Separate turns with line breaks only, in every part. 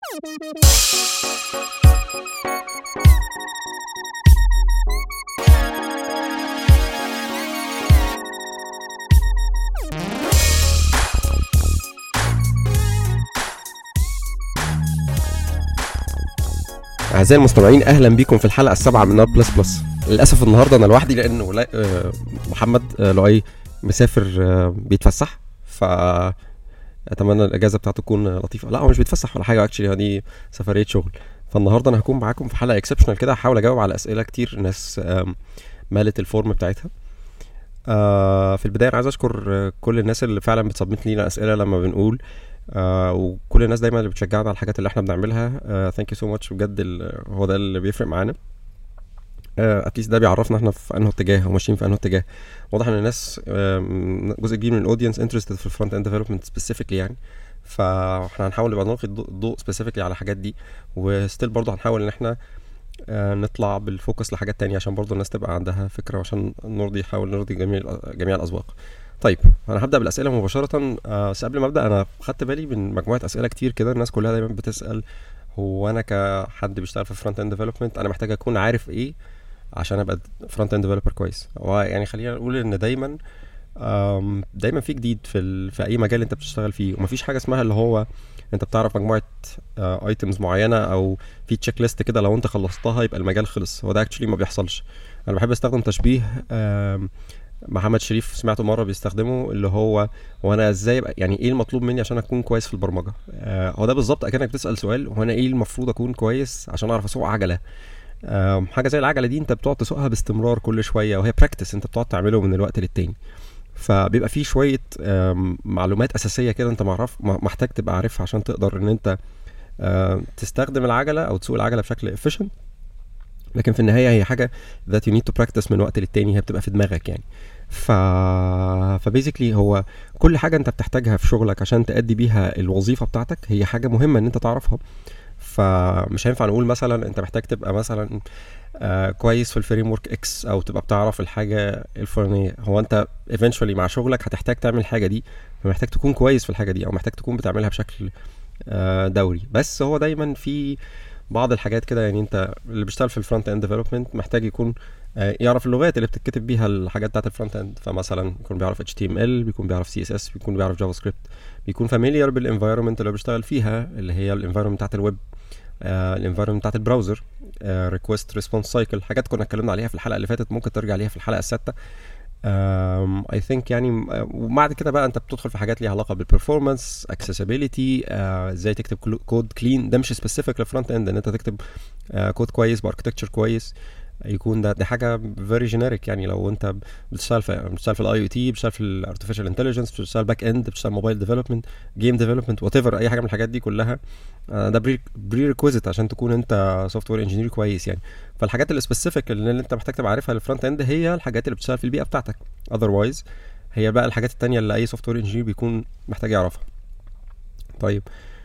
أعزائي المستمعين، أهلا بكم في الحلقة السابعة من نار بلس بلس. للأسف النهاردة أنا لوحدي لأنه محمد لؤي مسافر بيتفسح، فأتمنى الأجازة بتاعته تكون لطيفة. لا، هو مش بيتفسح ولا حاجة، اكشلي هذه سفرية شغل. فالنهاردة أنا هكون معاكم في حلقة اكسبشنال كده، هحاول أجاوب على أسئلة كتير الناس مالت الفورم بتاعتها. في البداية أنا عايز أشكر كل الناس اللي فعلا بتصبت لينا أسئلة لما بنقول، وكل الناس دايما اللي بتشجعنا على الحاجات اللي احنا بنعملها. ثانك يو سو ماتش بجد. هو ده اللي بيفرق معانا. اتليست ده بيعرفنا احنا في انه اتجاه وماشيين في انه اتجاه. واضح ان الناس جزء كبير من الاودينس انترستد في الفرونت اند ديفلوبمنت سبيسيفيكلي يعني. فاحنا هنحاول نبقى نلقي الضوء سبيسيفيكلي على الحاجات دي، وستيل برضه هنحاول ان احنا نطلع بالفوكس لحاجات تانية عشان برضه الناس تبقى عندها فكرة، وعشان نحاول نرضي جميع الأذواق. طيب انا هبدا بالاسئله مباشره. بس قبل ما ابدا انا خدت بالي من مجموعه اسئله كتير كده. الناس كلها دايما بتسال، هو انا كحد بيشتغل في فرونت اند ديفلوبمنت انا محتاج اكون عارف ايه عشان ابقى فرونت اند ديفلوبر كويس؟ يعني خلينا نقول ان دايما في جديد في اي مجال انت بتشتغل فيه، ومفيش حاجه اسمها اللي هو انت بتعرف مجموعه ايتمز معينه او في تشيك ليست كده لو انت خلصتها يبقى المجال خلص. هو ده اكشلي ما بيحصلش. انا بحب استخدم تشبيه محمد شريف سمعته مره بيستخدمه، اللي هو وانا ازاي يعني ايه المطلوب مني عشان اكون كويس في البرمجه. هو ده بالظبط اكنك بتسال سؤال، وانا ايه المفروض اكون كويس عشان اعرف اسوق عجله. حاجه زي العجله دي انت بتقعد تسوقها باستمرار كل شويه، وهي براكتس انت بتقعد تعمله من الوقت للتاني. فبيبقى فيه شويه معلومات اساسيه كده انت محتاج تبقى عارفها عشان تقدر ان انت تستخدم العجله او تسوق العجله بشكل efficient. لكن في النهايه هي حاجه that you need to practice من وقت للتاني، هي بتبقى في دماغك يعني. فبيزيكلي هو كل حاجه انت بتحتاجها في شغلك عشان تأدي بيها الوظيفه بتاعتك هي حاجه مهمه ان انت تعرفها. فمش هينفع نقول مثلا انت محتاج تبقى مثلا كويس في الفريم ورك اكس او تبقى بتعرف الحاجه الفلانيه. هو انت eventually مع شغلك هتحتاج تعمل الحاجه دي، فمحتاج تكون كويس في الحاجه دي او محتاج تكون بتعملها بشكل دوري. بس هو دايما في بعض الحاجات كده، يعني انت اللي بيشتغل في الفرونت اند ديفلوبمنت محتاج يكون يعرف اللغات اللي بتتكتب بيها الحاجات بتاعت الفرونت اند. فمثلا يكون بيعرف HTML، بيكون بيعرف CSS، بيكون بيعرف جافا سكريبت، بيكون فاميليار بالانفايرمنت اللي بيشتغل فيها اللي هي الانفايرمنت بتاعت الويب، الانفايرمنت بتاعت البراوزر، ريكوست ريسبونس سايكل، حاجات كنا اتكلمنا عليها في الحلقه اللي فاتت، ممكن ترجع ليها في الحلقه السادسه. I think يعني. وبعد كده بقى انت بتدخل في حاجات ليها علاقه بالبرفورمانس، اكسسبيليتي، ازاي تكتب كود كلين. ده مش سبيسيفيك للفرونت اند ان انت تكتب كود كويس باركتكتشر كويس، يكون ده حاجه فيري جينيريك. يعني لو انت بتشتغل في الاي او تي، بتشتغل في الارتفيشال انتليجنس، بتشتغل باك اند، بتشتغل موبايل ديفلوبمنت، جيم ديفلوبمنت، وات ايفر، اي حاجه من الحاجات دي كلها ده بري ريكويزيت عشان تكون انت سوفت وير انجينير كويس يعني. فالحاجات السبيسيفيك اللي انت محتاج تبقى عارفها للفرونت اند هي الحاجات اللي بتشتغل في البيئه بتاعتك. اذروايز هي بقى الحاجات التانية اللي اي سوفت وير انجينير بيكون محتاج يعرفها. طيب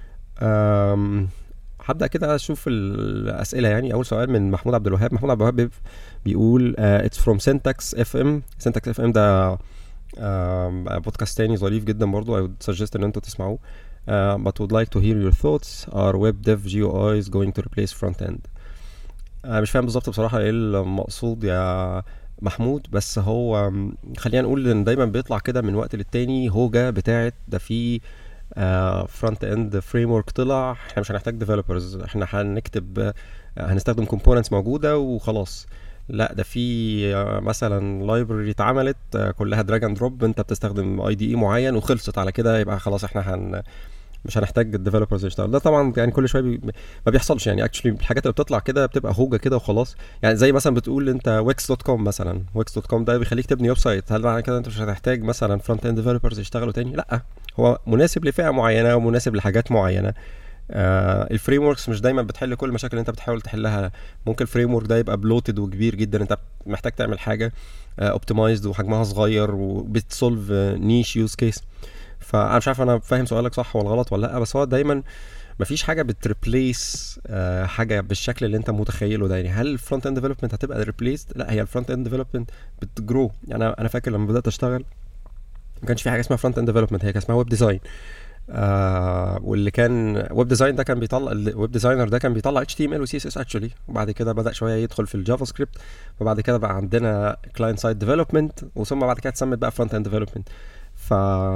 هبدا كده اشوف الاسئله. يعني اول سؤال من محمود عبد الوهاب. محمود عبد الوهاب بيقول it's from Syntax FM. Syntax FM ده بودكاست تاني ظريف جدا برضو. I would suggest ان انتوا تسمعوه. But would like to hear your thoughts. Are web dev GUIs going to replace front end? مش فاهم بالظبط بصراحه ايه المقصود يا محمود، بس هو خلينا نقول ان دايما بيطلع كده من وقت للتاني هوجه بتاعت ده في فرونت اند فريم ورك طلع، احنا مش هنحتاج ديفلوبرز، احنا هنكتب هنستخدم كومبوننتس موجوده وخلاص. لا، ده في مثلا لايبرري اتعملت كلها دراج اند دروب، انت بتستخدم IDE معين وخلصت على كده، يبقى خلاص احنا مش هنحتاج الديفلوبرز يشتغل. ده طبعا يعني كل شويه ما بيحصلش يعني. اكشلي الحاجات اللي بتطلع كده بتبقى هوجه كده وخلاص. يعني زي مثلا بتقول انت wix.com مثلا، wix.com ده بيخليك تبني ويب سايت، هل معنى كده انت مش هتحتاج مثلا فرونت اند ديفلوبرز يشتغلوا تاني؟ لا، هو مناسب لفئه معينه ومناسب لحاجات معينه. الفريم وركس مش دايما بتحل كل المشاكل اللي انت بتحاول تحلها. ممكن الفريم ورك ده يبقى بلوتد وكبير جدا، انت محتاج تعمل حاجه اوبتمايزد وحجمها صغير وبتسولف نيش يوز كيس. فانا مش عارف انا فاهم سؤالك صح ولا غلط ولا لا، بس هو دايما مفيش حاجه بتريبليس حاجه بالشكل اللي انت متخيله ده. يعني هل الفرونت اند ديفلوبمنت هتبقى ريبليسد؟ لا، هي الفرونت اند ديفلوبمنت بتجرو. يعني انا فاكر لما بدات اشتغل ما كانش في حاجه اسمها فرونت اند ديفلوبمنت، هي كان اسمها ويب ديزاين. واللي كان ويب ديزاين ده كان بيطلع الويب ديزاينر ده كان بيطلع HTML و CSS اكشولي، وبعد كده بدأ شويه يدخل في الجافا سكريبت، وبعد كده بقى عندنا كلاينت سايد ديفلوبمنت، وثم بعد كده اتسمت بقى فرونت اند ديفلوبمنت. ف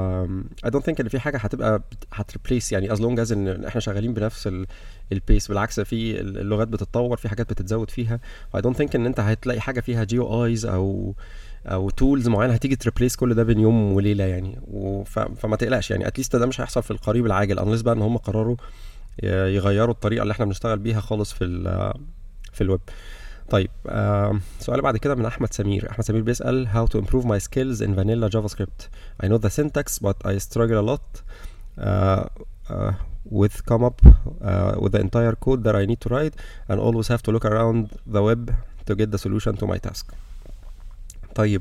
I don't think ان في حاجه هتبقى هتريبليس يعني as long as ان احنا شغالين بنفس البيس. بالعكس في اللغات بتتطور، في حاجات بتتزود فيها. I don't think ان انت هتلاقي حاجه فيها GUIs او تولز معينه هتيجي تريبليس كل ده بين يوم وليله يعني. فما تقلقش يعني، اتليست ده مش هيحصل في القريب العاجل unless بقى ان هم قرروا يغيروا الطريقه اللي احنا بنشتغل بيها خالص في الويب. طيب سؤال بعد كده من احمد سمير. احمد سمير بيسال how to improve my skills in vanilla JavaScript. I know the syntax but I struggle a lot uh, uh, with come up with the entire code that I need to write and always have to look around the web to get the solution to my task. طيب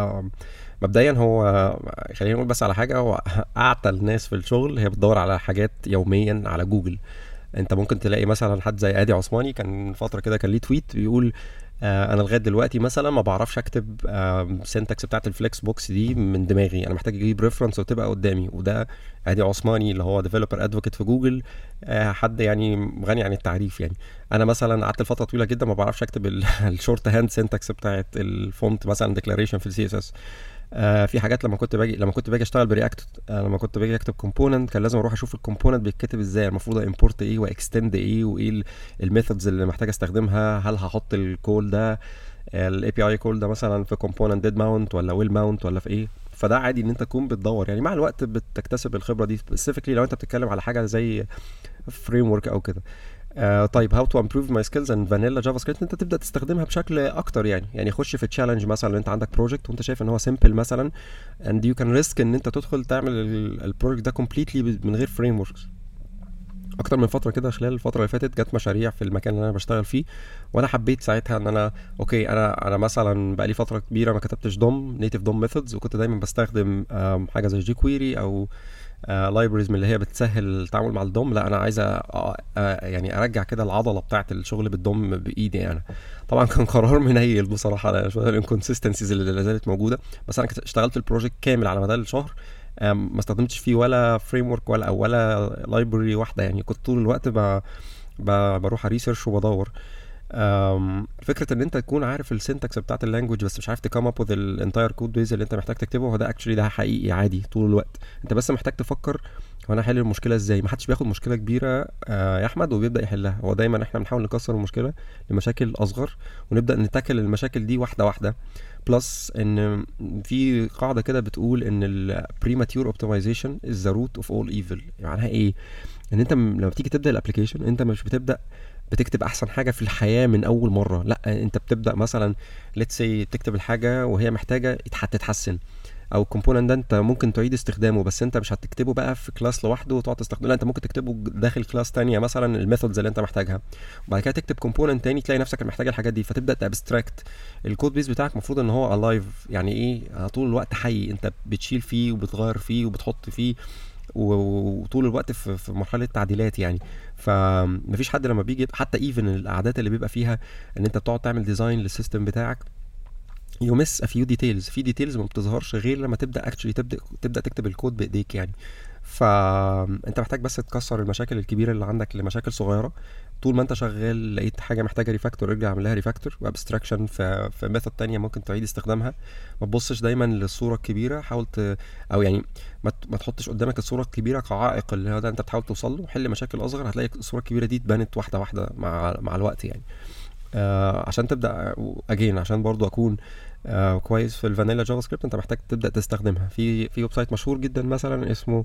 مبدئيا هو خلينا نقول بس على حاجه، هو اعتى الناس في الشغل هي بتدور على حاجات يوميا على جوجل. انت ممكن تلاقي مثلا حد زي ادي عثماني كان فتره كده كان ليه تويت بيقول انا لغايه دلوقتي مثلا ما بعرفش اكتب سينتاكس بتاعت الفليكس بوكس دي من دماغي، انا محتاج اجيب ريفرنس وتبقى قدامي. وده ادي عثماني اللي هو ديفلوبر ادفوكيت في جوجل، حد يعني غني عن التعريف يعني. انا مثلا قعدت فتره طويله جدا ما بعرفش اكتب الشورت هاند سينتاكس بتاعت الفونت مثلا ديكلاريشن في السي اس اس. في حاجات لما كنت باجي اشتغل برياكت، لما كنت باجي اكتب كومبوننت كان لازم اروح اشوف الكومبوننت بيتكتب ازاي، المفروض امبورت ايه واكستند ايه وايه الميثودز اللي محتاج استخدمها، هل هحط الكول ده الاي بي اي كول ده مثلا في كومبوننت ديد ماونت ولا ويل ماونت ولا في ايه. فده عادي ان انت تكون بتدور يعني، مع الوقت بتكتسب الخبره دي سبيسيفيكلي لو انت بتتكلم على حاجه زي فريم ورك او كده. طيب how to improve my skills in vanilla JavaScript. انت تبدا تستخدمها بشكل اكتر يعني خش في تشالنج مثلا لو انت عندك بروجكت وانت شايف ان هو سيمبل مثلا and you can risk ان انت تدخل تعمل البروجكت ده completely من غير فريم وركس. اكتر من فتره كده خلال الفتره اللي فاتت جت مشاريع في المكان اللي انا بشتغل فيه، وانا حبيت ساعتها ان انا اوكي انا مثلا بقالي فتره كبيره ما كتبتش دوم نيتيف دوم ميثودز، وكنت دايما بستخدم حاجه زي جي كويري او لايبريز من اللي هي بتسهل التعامل مع الدوم. لا انا عايز يعني ارجع كده العضله بتاعه الشغل بالدوم بايدي انا. طبعا كان قرار منيل بصراحه لان شويه الانكونسستنسيز اللي لا زالت موجوده، بس انا اشتغلت البروجكت كامل على مدار الشهر ما استخدمتش فيه ولا فريم ورك ولا لايبرري واحده يعني. كنت طول الوقت بروح ريسيرش وبدور. فكره ان انت تكون عارف السنتكس بتاعت اللانجوج بس مش عارف تكم اب وذ الانتاير كود بيز اللي انت محتاج تكتبه، هو ده اكشلي ده حقيقي عادي طول الوقت. انت بس محتاج تفكر هو انا احل المشكله ازاي. محدش بياخد مشكله كبيره يا احمد وبيبدا يحلها، هو دايما احنا بنحاول نكسر المشكله لمشاكل اصغر ونبدا نتاكل المشاكل دي واحده واحده. بلس ان في قاعده كده بتقول ان البريماتيور اوبتمايزيشن از ذا روت اوف اول ايفل. معناها ايه؟ ان انت لما بتيجي تبدا الابلكيشن انت مش بتبدا بتكتب احسن حاجه في الحياه من اول مره، لا انت بتبدا مثلا ليتس سي تكتب الحاجه وهي محتاجه تتحسن، او الكومبوننت ده انت ممكن تعيد استخدامه بس انت مش هتكتبه بقى في كلاس لوحده وتقعد تستخدمه، لا انت ممكن تكتبه داخل كلاس تانية مثلا الميثودز اللي انت محتاجها، وبعد كده تكتب كومبوننت تاني تلاقي نفسك محتاج الحاجات دي، فتبدا تابستراكت. الكود بيس بتاعك المفروض ان هو الايف يعني ايه، طول الوقت حي، انت بتشيل فيه وبتغير فيه وبتحط فيه وطول الوقت في مرحله تعديلات يعني. فمفيش حد لما بيجي حتى ايفن الاعداد اللي بيبقى فيها ان انت بتقعد تعمل ديزاين للسيستم بتاعك you miss a few details، في ديتيلز ما بتظهرش غير لما تبدا اكشلي تبدا تكتب الكود بايديك يعني. فانت محتاج بس تكسر المشاكل الكبيره اللي عندك لمشاكل صغيره. طول ما انت شغال لقيت حاجه محتاجه ريفاكتور ارجع اعمل لها ريفاكتور وابستراكشن في ميثود تانية ممكن تعيد استخدامها. ما تبصش دايما للصوره الكبيره، حاول او يعني ما تحطش قدامك الصوره الكبيره كعائق اللي هو ده انت بتحاول توصل له. حل مشاكل اصغر هتلاقي الصوره الكبيره دي اتبنت واحده واحده مع الوقت يعني. عشان تبدا اجين عشان برضو اكون كويس في الفانيلا جافا سكريبت انت محتاج تبدا تستخدمها في ويب سايت مشهور جدا مثلا اسمه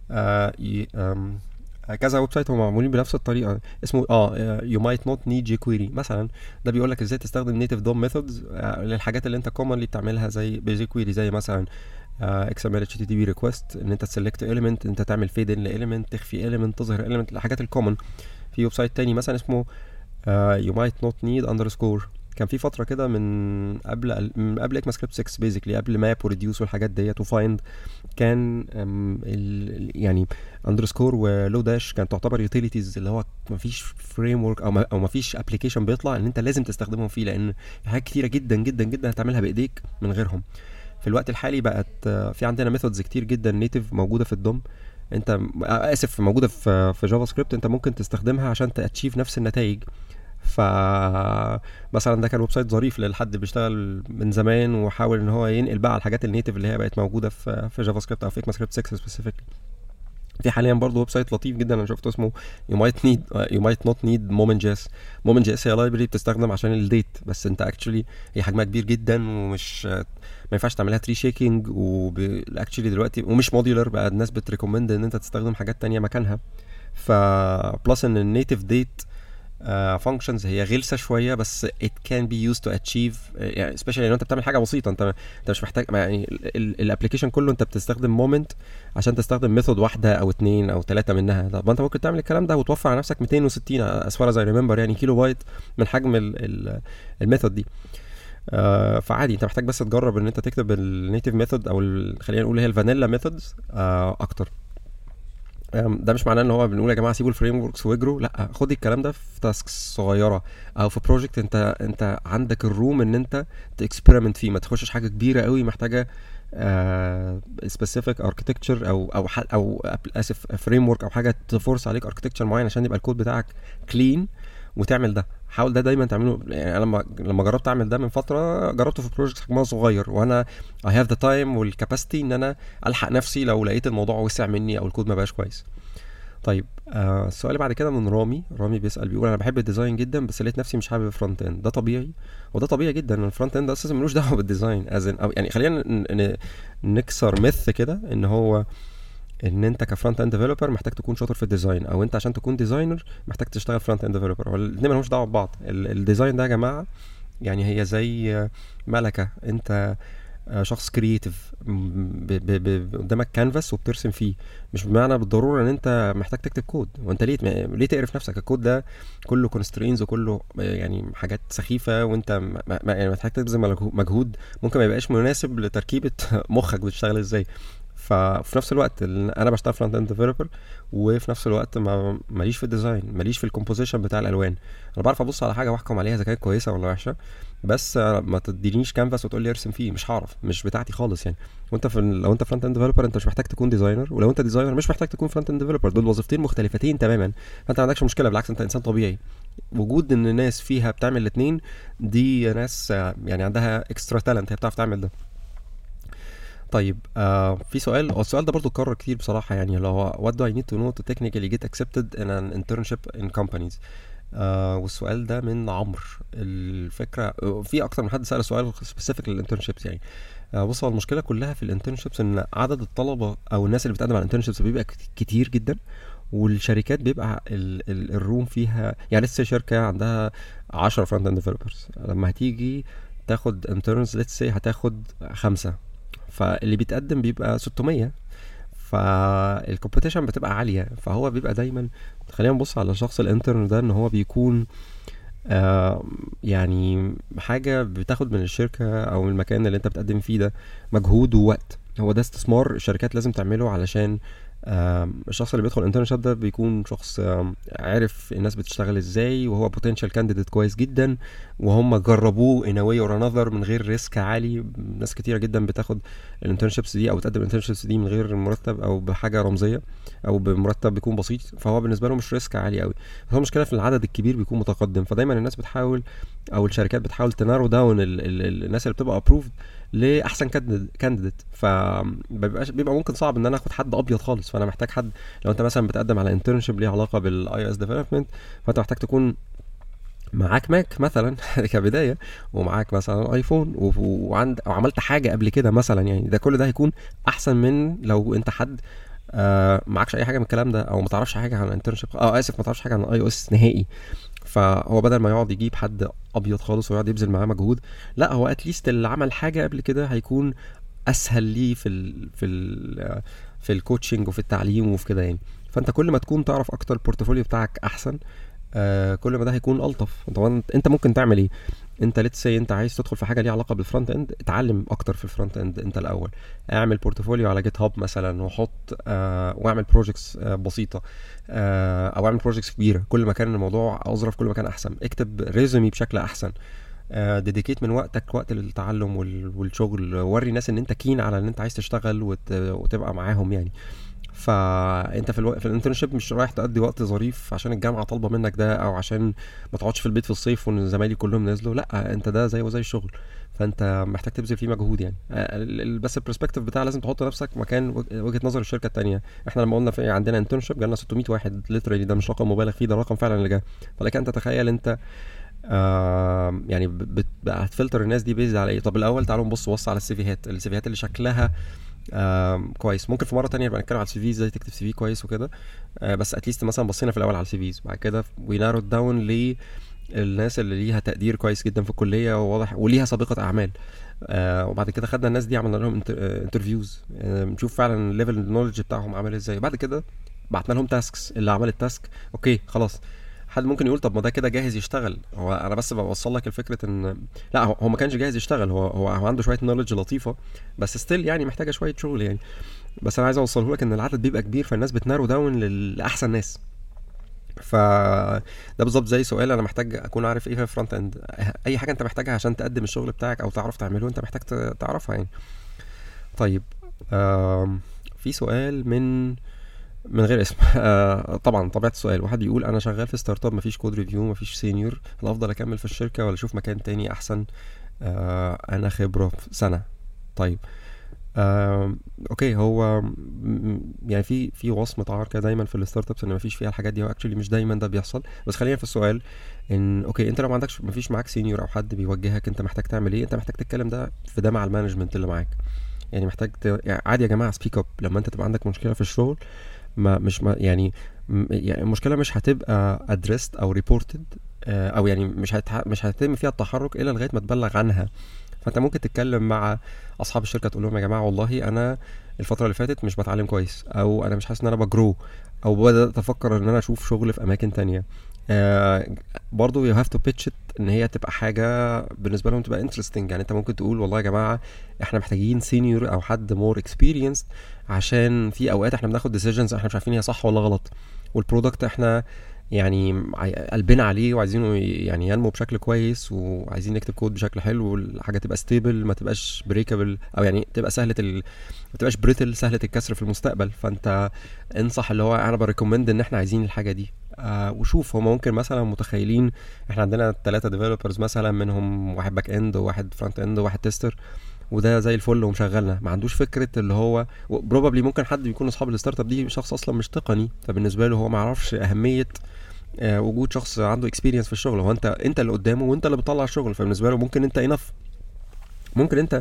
كذا ويب سايت هم معمولين بنفس الطريقه اسمه you might not need jQuery مثلا. ده بيقول لك ازاي تستخدم native DOM methods للحاجات اللي انت commonly بتعملها زي jQuery، زي مثلا XML HTTP request ان انت تسلكت element، انت تعمل fade in ل element، تخفي element، تظهر element، الحاجات الكومن. في ويب سايت تاني مثلا اسمه you might not need underscore. كان في فتره كده من قبل ECMAScript 6 بيزيكلي قبل ماب وريديوس والحاجات ديت وفايند، كان يعني اندرسكور ولو داش كانت تعتبر يوتيليتيز اللي هو مفيش فريم ورك او مفيش ابلكيشن بيطلع ان انت لازم تستخدمهم فيه، لان في حاجات كتيره جدا جدا جدا هتعملها بايديك من غيرهم. في الوقت الحالي بقت في عندنا ميثودز كتير جدا نيتيف موجوده في الدوم انت اسف موجوده في جافا سكريبت، انت ممكن تستخدمها عشان تاتشيف نفس النتائج. ف مثلا ده كان ويب سايت ظريف لحد بيشتغل من زمان وحاول ان هو ينقل بقى على الحاجات النيتف اللي هي بقت موجوده في جافا سكريبت او في اكما سكريبت 6 سبيسيفيكلي. في حاليا برضه ويب سايت لطيف جدا انا شفته اسمه you might not need moment.js. moment.js هي لايبرري بتستخدم عشان الديت، بس انت اكشولي هي حجمها كبير جدا ومش ما ينفعش تعملها تري شيكينج، واكشولي دلوقتي ومش موديولر بقى، الناس بتريكومند ان انت تستخدم حاجات تانية مكانها. ف بلس ان النيتف ديت functions هي غلسه شويه، بس it can be used to achieve يعني especially لو انت بتعمل حاجه بسيطه، انت مش محتاج يعني الابلكيشن كله انت بتستخدم مومنت عشان تستخدم ميثود واحده او اتنين او تلاته منها. طب انت ممكن تعمل الكلام ده وتوفر على نفسك 260 as far as I remember يعني كيلو بايت من حجم الميثود دي. فعادي انت محتاج بس تجرب ان انت تكتب النيتيف ميثود او خلينا نقول هي الفانيلا ميثودز اكتر. ده مش معناه ان هو بنقول يا جماعه سيبوا الفريم وركس واجروا، لا، خد الكلام ده في تاسكس صغيره او في بروجكت انت عندك الروم ان انت تكسبيرمنت فيه، ما تخشش حاجه كبيره قوي محتاجه سبيسيفيك اركتكتشر او اسف فريم ورك او حاجه تفورس عليك اركتكتشر معين عشان يبقى الكود بتاعك كلين وتعمل ده. حاول ده دايما تعمله. يعني انا لما جربت اعمل ده من فتره، جربته في بروجكت حجمها صغير وانا I have the time والكاباسيتي ان انا الحق نفسي لو لقيت الموضوع وسع مني او الكود ما بقاش كويس. طيب السؤال اللي بعد كده من رامي بيسأل بيقول انا بحب الديزاين جدا بس لقيت نفسي مش حابب الفرونت اند. ده طبيعي، وده طبيعي جدا ان الفرونت اند اساسا ملوش دعوه بالديزاين أو يعني خلينا نكسر مث كده ان هو ان انت كفرونت اند ديفلوبر محتاج تكون شاطر في الديزاين، او انت عشان تكون ديزاينر محتاج تشتغل فرونت اند ديفلوبر. والاثنين مالهمش دعوه ببعض. الديزاين ده يا جماعه يعني هي زي ملكه، انت شخص كرييتيف قدامك كانفاس وبترسم فيه، مش بمعنى بالضروره ان انت محتاج تكتب كود. وانت ليه تقرف نفسك؟ الكود ده كله كونسترينز وكله يعني حاجات سخيفه، وانت يعني محتاج تبذل مجهود ممكن ما يبقاش مناسب لتركيبه مخك بتشتغل ازاي. ففي نفس الوقت انا بشتغل فرونت اند ديفلوبر، وفي نفس الوقت ماليش في الديزاين، ماليش في الكومبوزيشن بتاع الالوان. انا بعرف ابص على حاجه واحكم عليها اذا كانت كويسه ولا وحشه، بس ما تدينيش كانفاس وتقول لي ارسم فيه، مش هعرف، مش بتاعتي خالص يعني. وانت لو انت فرونت اند ديفلوبر انت مش محتاج تكون ديزاينر، ولو انت ديزاينر مش محتاج تكون فرونت اند ديفلوبر. دول وظيفتين مختلفتين تماما، فانت ما عندكش مشكله، بالعكس انت انسان طبيعي. وجود ان ناس فيها بتعمل الاثنين دي ناس يعني عندها اكسترا تالنت، هي بتعرف تعمل ده. طيب في السؤال ده برضو اتكرر كتير بصراحة، يعني اللي هو what do I need to know to technically get accepted in an internship in companies. والسؤال ده من عمرو. الفكرة في أكتر من حد سأل سؤال specific للانترنشيبس يعني. بص، المشكلة كلها في الانترنشيبس إن عدد الطلبة أو الناس اللي بتقدم على الانترنشيبس بيبقى كتير جدا، والشركات بيبقى الروم فيها يعني لسه شركة عندها 10 فرونت اند ديفلوبرز، لما هتيجي تاخد انترنز ليتس سي هتاخد 5، فاللي بيتقدم بيبقى 600، فالكومبيتيشن بتبقى عاليه. فهو بيبقى دايما، خلينا نبص على شخص الانترن ده ان هو بيكون يعني حاجه بتاخد من الشركه او من المكان اللي انت بتقدم فيه ده مجهود ووقت. هو ده استثمار الشركات لازم تعمله، علشان الشخص اللي بيدخل انترنشيب ده بيكون شخص عارف الناس بتشتغل ازاي، وهو بوتنشال كانديديت كويس جدا، وهم جربوه in a way or another من غير ريسك عالي. ناس كتيره جدا بتاخد الانترنشيبس دي او بتقدم الانترنشيبس دي من غير مرتب او بحاجه رمزيه او بمرتب بيكون بسيط، فهو بالنسبه له مش ريسك عالي قوي. هو المشكله في العدد الكبير بيكون متقدم، فدايما الناس بتحاول او الشركات بتحاول تنارو داون الناس اللي بتبقى ابروفد لاحسن كانديديت. بيبقى ممكن صعب ان انا اخد حد ابيض خالص، فانا محتاج حد. لو انت مثلا بتقدم على انترنشيب ليه علاقه بالاي اس ديفلوبمنت، فانت محتاج تكون معاك ماك مثلا كبدايه، ومعاك مثلا ايفون وعملت حاجه قبل كده مثلا. يعني ده كل ده هيكون احسن من لو انت حد معكش اي حاجه من الكلام ده، او ما تعرفش حاجه عن الانترنشيب، اسف ما تعرفش حاجه عن اي او اس نهائي. فهو بدل ما يقعد يجيب حد ابيض خالص ويقعد يبذل معاه مجهود، لا، هو اتليست اللي عمل حاجه قبل كده هيكون اسهل ليه في الكوتشنج وفي التعليم وفي كده يعني. فانت كل ما تكون تعرف اكتر البورتفوليو بتاعك احسن، كل ما ده هيكون الطف. طبعا انت ممكن تعمل ايه؟ انت ليتس سي انت عايز تدخل في حاجه ليها علاقه بالفرونت اند، اتعلم اكتر في الفرونت اند انت الاول، اعمل بورتفوليو على جيت هاب مثلا، وحط واعمل بروجكتس بسيطه، او اعمل بروجكتس كبيره. كل ما كان الموضوع اظرف كل ما كان احسن. اكتب ريزومي بشكل احسن، ديديكيت من وقت للتعلم والشغل، وري الناس ان انت كين على ان انت عايز تشتغل وتبقى معاهم يعني. فانت في الانترنشيب مش رايح تقضي وقت ظريف عشان الجامعه طالبه منك ده، او عشان ما تقعدش في البيت في الصيف وان زمايلي كلهم نزلوا. لا، انت ده زي وزي الشغل، فانت محتاج تبذل فيه مجهود يعني. بس البرسبكتيف بتاع لازم تحط نفسك مكان وجهه نظر الشركه التانية. احنا لما قلنا في عندنا انترنشيب جالنا 600 واحد ليترالي، ده مش رقم مبالغ فيه، ده رقم فعلا اللي جه. فلك انت تتخيل انت يعني هتفلتر الناس دي بيز على ايه؟ طب الاول تعالوا نبص على السيفيهات اللي شكلها كويس. ممكن في مره تانية نبقى نتكلم على السي في، ازاي تكتب سي في كويس وكده. بس اتليست مثلا بصينا في الاول على السي فيز، بعد كده وي نارو داون للناس اللي ليها تقدير كويس جدا في الكليه وواضح وليها سابقه اعمال. وبعد كده خدنا الناس دي عملنا لهم انترفيوز، نشوف فعلا الليفل النولج بتاعهم عامل ازاي. بعد كده بعتنا لهم تاسكس، اللي عمل التاسك اوكي خلاص. حد ممكن يقول طب ما ده كده جاهز يشتغل. هو انا بس بوصل لك الفكره ان لا، هو ما كانش جاهز يشتغل، هو عنده شويه نولج لطيفه، بس ستيل يعني محتاجه شويه شغل يعني. بس انا عايز اوصله لك ان العدد بيبقى كبير، فالناس بتنارو داون لاحسن ناس. ف ده بالظبط زي سؤال انا محتاج اكون عارف ايه في الفرونت اند. اي حاجه انت محتاجها عشان تقدم الشغل بتاعك او تعرف تعمله، انت محتاج تعرفها يعني. طيب في سؤال من غير اسم طبعا طبيعه السؤال، واحد بيقول انا شغال في ستارت اب، مفيش كود ريفيو، مفيش سينيور، هل افضل اكمل في الشركه ولا اشوف مكان تاني احسن؟ انا خبره في سنه. طيب اوكي، هو يعني في وصمه عار كده دايما في الستارت ابس ان مفيش فيها الحاجات دي، هو اكشلي مش دايما ده بيحصل. بس خلينا في السؤال ان اوكي، انت لو ما عندكش مفيش معاك سينيور او حد بيوجهك، انت محتاج تعمل ايه؟ انت محتاج تتكلم ده مع المانجمنت اللي معاك. يعني محتاج يعني عادي يا جماعه سبيك اب لما انت تبقى عندك مشكله في الشغل. ما مش ما يعني يعني المشكله مش هتبقى ادريست او ريبورتد، او يعني مش هيتم فيها التحرك الا لغايه ما تبلغ عنها. فانت ممكن تتكلم مع اصحاب الشركه تقول لهم يا جماعه والله انا الفتره اللي فاتت مش بتعلم كويس، او انا مش حاسس ان انا بجرو، او بدات افكر ان انا اشوف شغل في اماكن تانية. برضو you have to pitch it ان هي تبقى حاجه بالنسبه لهم تبقى interesting. يعني انت ممكن تقول والله يا جماعه احنا محتاجين سينيور او حد more experienced، عشان في اوقات احنا بناخد decisions احنا مش عارفين هي صح ولا غلط، والبرودكت احنا يعني قلبنا عليه وعايزينه يعني ينمو بشكل كويس، وعايزين نكتب كود بشكل حلو، والحاجه تبقى ستيبل ما تبقاش بريكابل، او يعني تبقى ما تبقاش بريتل سهله الكسر في المستقبل. فانت انصح اللي هو انا بريكومند ان احنا عايزين الحاجه دي. وشوف هم ممكن مثلا متخيلين احنا عندنا 3 ديفلوبرز مثلا، منهم واحد باك اند وواحد فرونت اند وواحد تيستر، وده زي الفل ومشغلنا. ما عندوش فكره اللي هو بروبابلي ممكن حد بيكون اصحاب الستارت اب دي شخص اصلا مش تقني، فبالنسبه له هو ما يعرفش اهميه وجود شخص عنده اكسبيرينس في الشغل. هو انت اللي قدامه وانت اللي بتطلع الشغل، فبالنسبه له ممكن انت انف، ممكن انت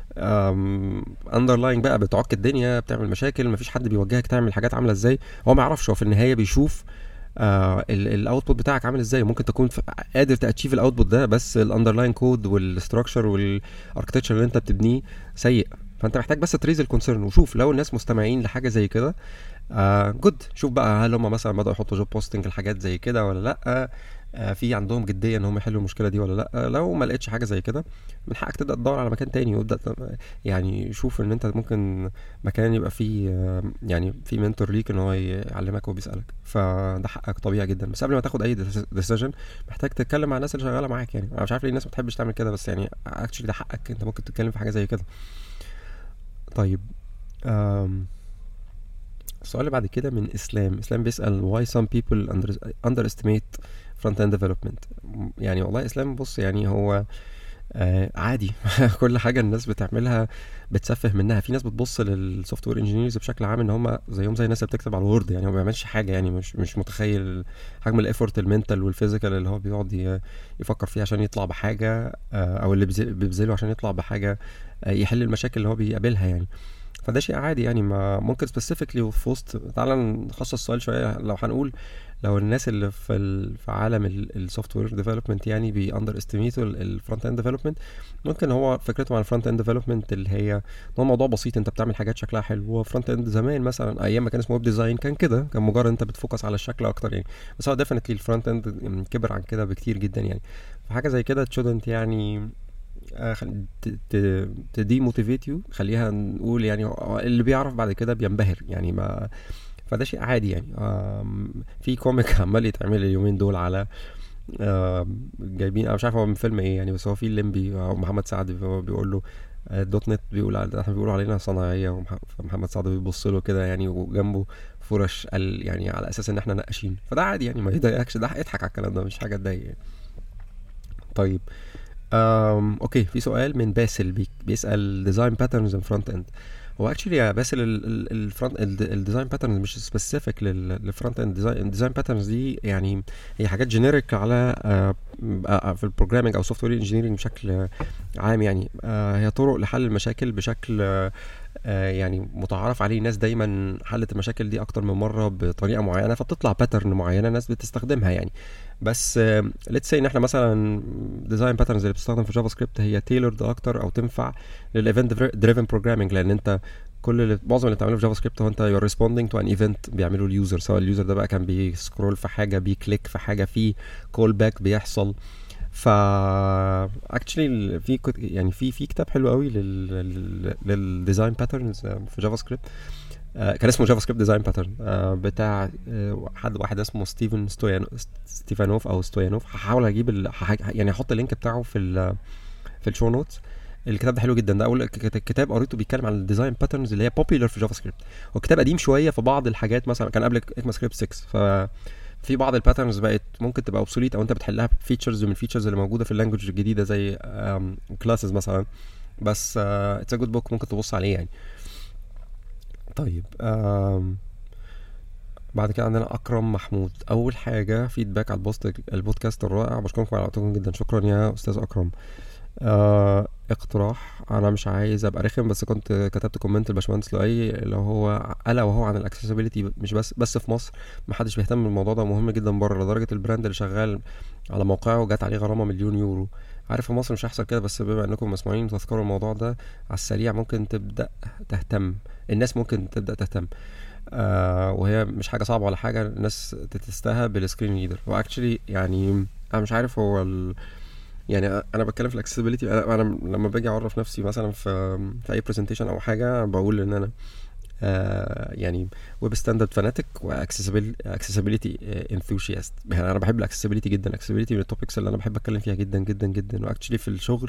اندرلاين بقى بتعك الدنيا، بتعمل مشاكل، مفيش حد بيوجهك تعمل حاجات عامله ازاي. هو ما يعرفش، هو في النهايه بيشوف الاوتبوت بتاعك عامل ازاي. ممكن تكون قادر تاتشيف الاوتبوت ده، بس الاندرلاين كود والستراكشر والاركتكتشر اللي انت بتبنيه سيء. فانت محتاج بس تريز الكونسيرن وشوف لو الناس مستمعين لحاجه زي كده. جود، شوف بقى هل هم مثلا بدأوا يحطوا جوب بوستنج الحاجات زي كده ولا لا، في عندهم جديه ان هم يحلوا المشكله دي ولا لا. لو ما لقيتش حاجه زي كده من حقك تبدا تدور على مكان تاني، وابدا يعني شوف ان انت ممكن مكان يبقى فيه يعني في منتور ليك ان هو يعلمك وبيسالك، فده حقك طبيعي جدا. بس قبل ما تاخد اي ديسيجن محتاج تتكلم مع الناس اللي شغاله معاك. يعني انا مش عارف ليه الناس ما بتحبش تعمل كده، بس يعني اكشلي ده حقك، انت ممكن تتكلم في حاجه زي كده. طيب السؤال اللي بعد كده من اسلام بيسأل why some people underestimate front end development. يعني والله اسلام بص، يعني هو عادي كل حاجه الناس بتعملها بتسفه منها. في ناس بتبص للسوفت وير انجينيرز بشكل عام ان هم زيهم زي الناس اللي بتكتب على الوورد، يعني هو ما بيعملش حاجه، يعني مش متخيل حجم الايفورت المنتال والفيزيكال اللي هو بيقعد يفكر فيه عشان يطلع بحاجه، او اللي بيبذله عشان يطلع بحاجه يحل المشاكل اللي هو بيقابلها يعني. فده شيء عادي يعني. ما ممكن سبيسيفيكلي في وسط، تعالى نخصص السؤال شويه. لو هنقول لو الناس اللي في عالم السوفت وير ديفلوبمنت يعني بي اندر استيميتوا الفرونت اند ديفلوبمنت، ممكن هو فكرته عن الفرونت اند ديفلوبمنت اللي هي هو موضوع بسيط، انت بتعمل حاجات شكلها حلو. هو فرونت اند زمان مثلا ايام ما كان اسمه ويب ديزاين كان كده، كان مجرد انت بتفوكس على الشكل اكتر يعني. بس هو ديفينتلي الفرونت اند كبر عن كده بكتير جدا يعني. فحاجه زي كده تشودنت يعني تدي موتيفيت يو، خليها نقول يعني اللي بيعرف بعد كده بينبهر يعني. ما فده شيء عادي يعني. في كوميك عمال يتعمل اليومين دول على جايبين، انا مش عارف هو من فيلم ايه يعني، بس هو في الليمبي او محمد سعد بيقول له الدوت نت احنا بيقولوا علينا صناعيه، فمحمد سعد بيبص له كده يعني، وجنبه فرش قال يعني على اساس ان احنا نقاشين، فده عادي يعني، ما يضايقكش، ده اضحك على الكلام ده، مش حاجه تضايق يعني. طيب اوكي، في سؤال من باسل بيسأل ديزاين باترنز ان فرونت اند. هو اكشلي يا باسل الفرونت الديزاين باترنز مش سبيسيفيك للفرونت اند. الديزاين باترنز دي يعني هي حاجات جينيريك على في البروجرامينج او سوفت وير انجينيرنج بشكل عام يعني. هي طرق لحل المشاكل بشكل يعني متعارف عليه، ناس دايما حلت المشاكل دي اكتر من مره بطريقه معينه، فبتطلع باترن معينه ناس بتستخدمها يعني. بس ليتس سي ان احنا مثلا ديزاين باترنز اللي بتستخدم في جافا سكريبت هي تailored اكتر او تنفع للايفنت دريفن بروجرامينج، لان انت معظم اللي بتعمله في جافا سكريبت هو انت يو ريسبوندينج تو ان ايفنت بيعمله اليوزر، سواء اليوزر ده بقى كان بيسكرول في حاجه، بيكليك في حاجه، في كول باك بيحصل. ف اكشلي يعني في كتاب حلو قوي للديزاين باترنز في جافا سكريبت، كان اسمه جافا سكريبت ديزاين باترن، بتاع واحد اسمه ستيفانوف او ستويانوف. هحاول اجيب يعني احط اللينك بتاعه في الشو نوتس. الكتاب ده حلو جدا، ده اول كتاب قريته بيتكلم عن الديزاين باترنز اللي هي بوبيلر في جافا سكريبت. هو كتاب قديم شويه، في بعض الحاجات مثلا كان قبل اكما سكريبت 6، في بعض الباترنز بقت ممكن تبقى اوبسوليت او انت بتحلها بفيتشرز من الفيتشرز اللي موجوده في اللانجوج الجديده زي كلاسز مثلا. بس اتس ا جود بوك، ممكن تبص عليه يعني. طيب بعد كده عندنا اكرم محمود. اول حاجه فيدباك على البودكاست الرائع، بشكركم على وقتكم جدا. شكرا يا استاذ اكرم. اقتراح، انا مش عايز ابقى رخم، بس كنت كتبت كومنت الباشمهندس لؤي اللي هو الا وهو عن الاكسسبيليتي، مش بس في مصر محدش بيهتم بالموضوع ده، مهم جدا بره، لدرجه البراند اللي شغال على موقعه جات عليه غرامه 1,000,000 يورو. عارف في مصر مش هيحصل كده، بس بما انكم مسموعين تذكروا الموضوع ده على السريع، ممكن تبدا تهتم، الناس ممكن تبدا تهتم. وهي مش حاجه صعبه ولا حاجه، الناس تتستاهل بالسكرين ريدر. واكشلي يعني انا مش عارف هو يعني انا بتكلم في الاكسسبيليتي، انا لما باجي اعرف نفسي مثلا في اي برزنتيشن او حاجه، بقول ان انا يعني ويب ستاندرد فاناتيك واكسسبيليتي انثوسياست. يعني انا بحب الاكسسبيليتي جدا، الاكسسبيليتي من التوبكس اللي انا بحب اتكلم فيها جدا جدا جدا. واكشلي في الشغل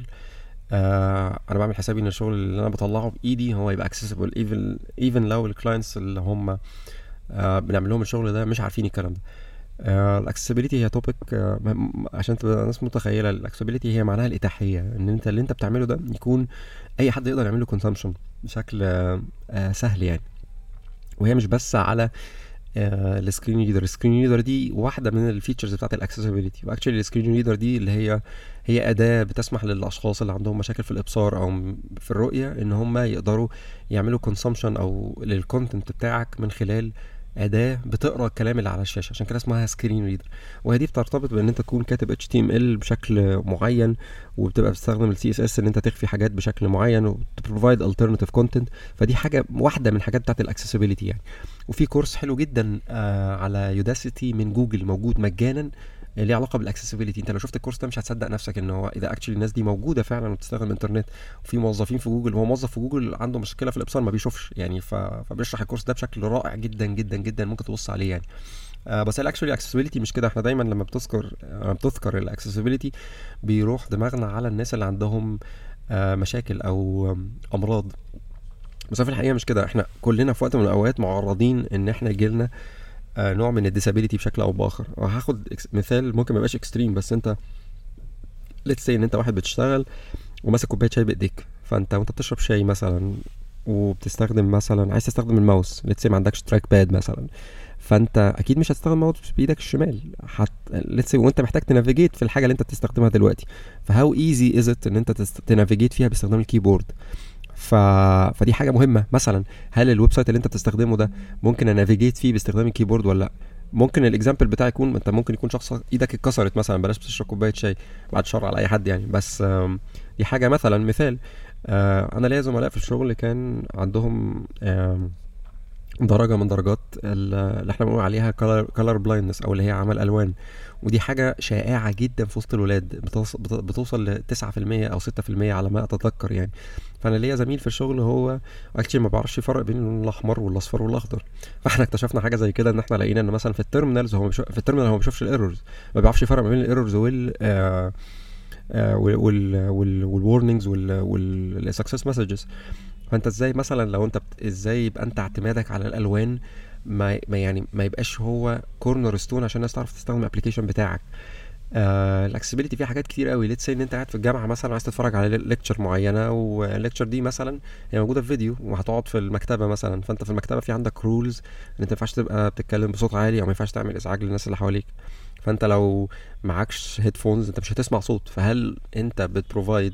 انا بعمل حسابي ان الشغل اللي انا بطلعه بايدي هو يبقى اكسسبل، ايفن لو الكلاينتس اللي هم بنعمل لهم الشغل ده مش عارفين الكلام ده. الاكسسبيليتي هي توبيك، عشان تبقى الناس متخيله، الاكسسبيليتي هي معناها الاتاحيه، ان انت اللي انت بتعمله ده يكون اي حد يقدر يعمله كونسامشن بشكل سهل يعني. وهي مش بس على السكرين ريدر. السكرين ريدر دي واحده من الفيتشرز بتاعت الاكسسبيليتي، واكشلي السكرين ريدر دي اللي هي اداه بتسمح للاشخاص اللي عندهم مشاكل في الابصار او في الرؤيه ان هم يقدروا يعملوا كونسامشن او للكونتنت بتاعك من خلال اداه بتقرا الكلام اللي على الشاشه، عشان كده اسمها سكرين ريدر. وهي دي بترتبط بان انت تكون كاتب HTML بشكل معين، وبتبقى بتستخدم ال CSS ان انت تخفي حاجات بشكل معين وتبروفايد alternative content. فدي حاجه واحده من الحاجات بتاعت الاكسسبيليتي يعني. وفي كورس حلو جدا على يوداسيتي من جوجل موجود مجانا ليه علاقه بالاكسسبيليتي. انت لو شفت الكورس ده مش هتصدق نفسك ان هو اذا اكشلي الناس دي موجوده فعلا وبتستخدم الانترنت. وفي موظفين في جوجل، هو موظف في جوجل عنده مشكله في الابصار ما بيشوفش يعني، فبيشرح الكورس ده بشكل رائع جدا جدا جدا، ممكن تبص عليه يعني. بس الاكشولي اكسسبيليتي مش كده. احنا دايما لما بتذكر الاكسسبيليتي بيروح دماغنا على الناس اللي عندهم مشاكل او امراض، بس في الحقيقه مش كده. احنا كلنا في وقت من الاوقات معرضين ان احنا يجيلنا نوع من الديسابيليتي بشكل او باخر. وهاخد مثال ممكن ما يبقاش اكستريم، بس انت ليتس سي ان انت واحد بتشتغل وماسك كوبايه شاي بايديك، وانت بتشرب شاي مثلا وبتستخدم مثلا عايز تستخدم الماوس، ليتس سي ما عندكش تراك باد مثلا، فانت اكيد مش هتستخدم ماوس بايدك الشمال، ليتس سي وانت محتاج تنافيجيت في الحاجه اللي انت بتستخدمها دلوقتي. فهاو ايزي از ات ان انت تنافيجيت فيها باستخدام الكيبورد. فدي حاجه مهمه. مثلا هل الويب سايت اللي انت بتستخدمه ده ممكن انافيجيت فيه باستخدام الكيبورد ولا لا؟ ممكن الاكزامبل بتاعي يكون انت ممكن يكون شخص ايدك اتكسرت مثلا، بلاش بتشرب كوبايه شاي، بعد شر على اي حد يعني، بس دي حاجه مثلا مثال. انا ليا زملاء في الشغل كان عندهم درجه من درجات اللي احنا بنقول عليها color blindness او اللي هي عمى الالوان. ودي حاجه شائعه جدا في وسط الولاد، بتوصل ل 9% او 6% على ما اتذكر يعني. فانا ليا زميل في الشغل هو اكشلي ما بيعرفش يفرق بين اللون الاحمر والاصفر والاخضر. فاحنا اكتشفنا حاجه زي كده، ان احنا لقينا ان مثلا في التيرمينال هو ما بيشوفش الايرورز، ما بيعرفش يفرق ما بين الايرورز والورنينجز والسكسس مسجز. فانت ازاي مثلا لو انت ازاي يبقى انت اعتمادك على الالوان ما يبقاش هو كورنر ستون عشان الناس تعرف تستخدم الابلكيشن بتاعك. الاكسسبيليتي فيها حاجات كتير قوي. ليتس ان انت قاعد في الجامعه مثلا عايز تتفرج على ليكتشر معينه، والليكتشر دي مثلا هي موجوده في فيديو وهتقعد في المكتبه مثلا، فانت في المكتبه في عندك رولز ان انت ما ينفعش تبقى بتتكلم بصوت عالي او ما ينفعش تعمل ازعاج للناس اللي حواليك. فانت لو معكش هيدفونز انت مش هتسمع صوت. فهل انت بتبروفايد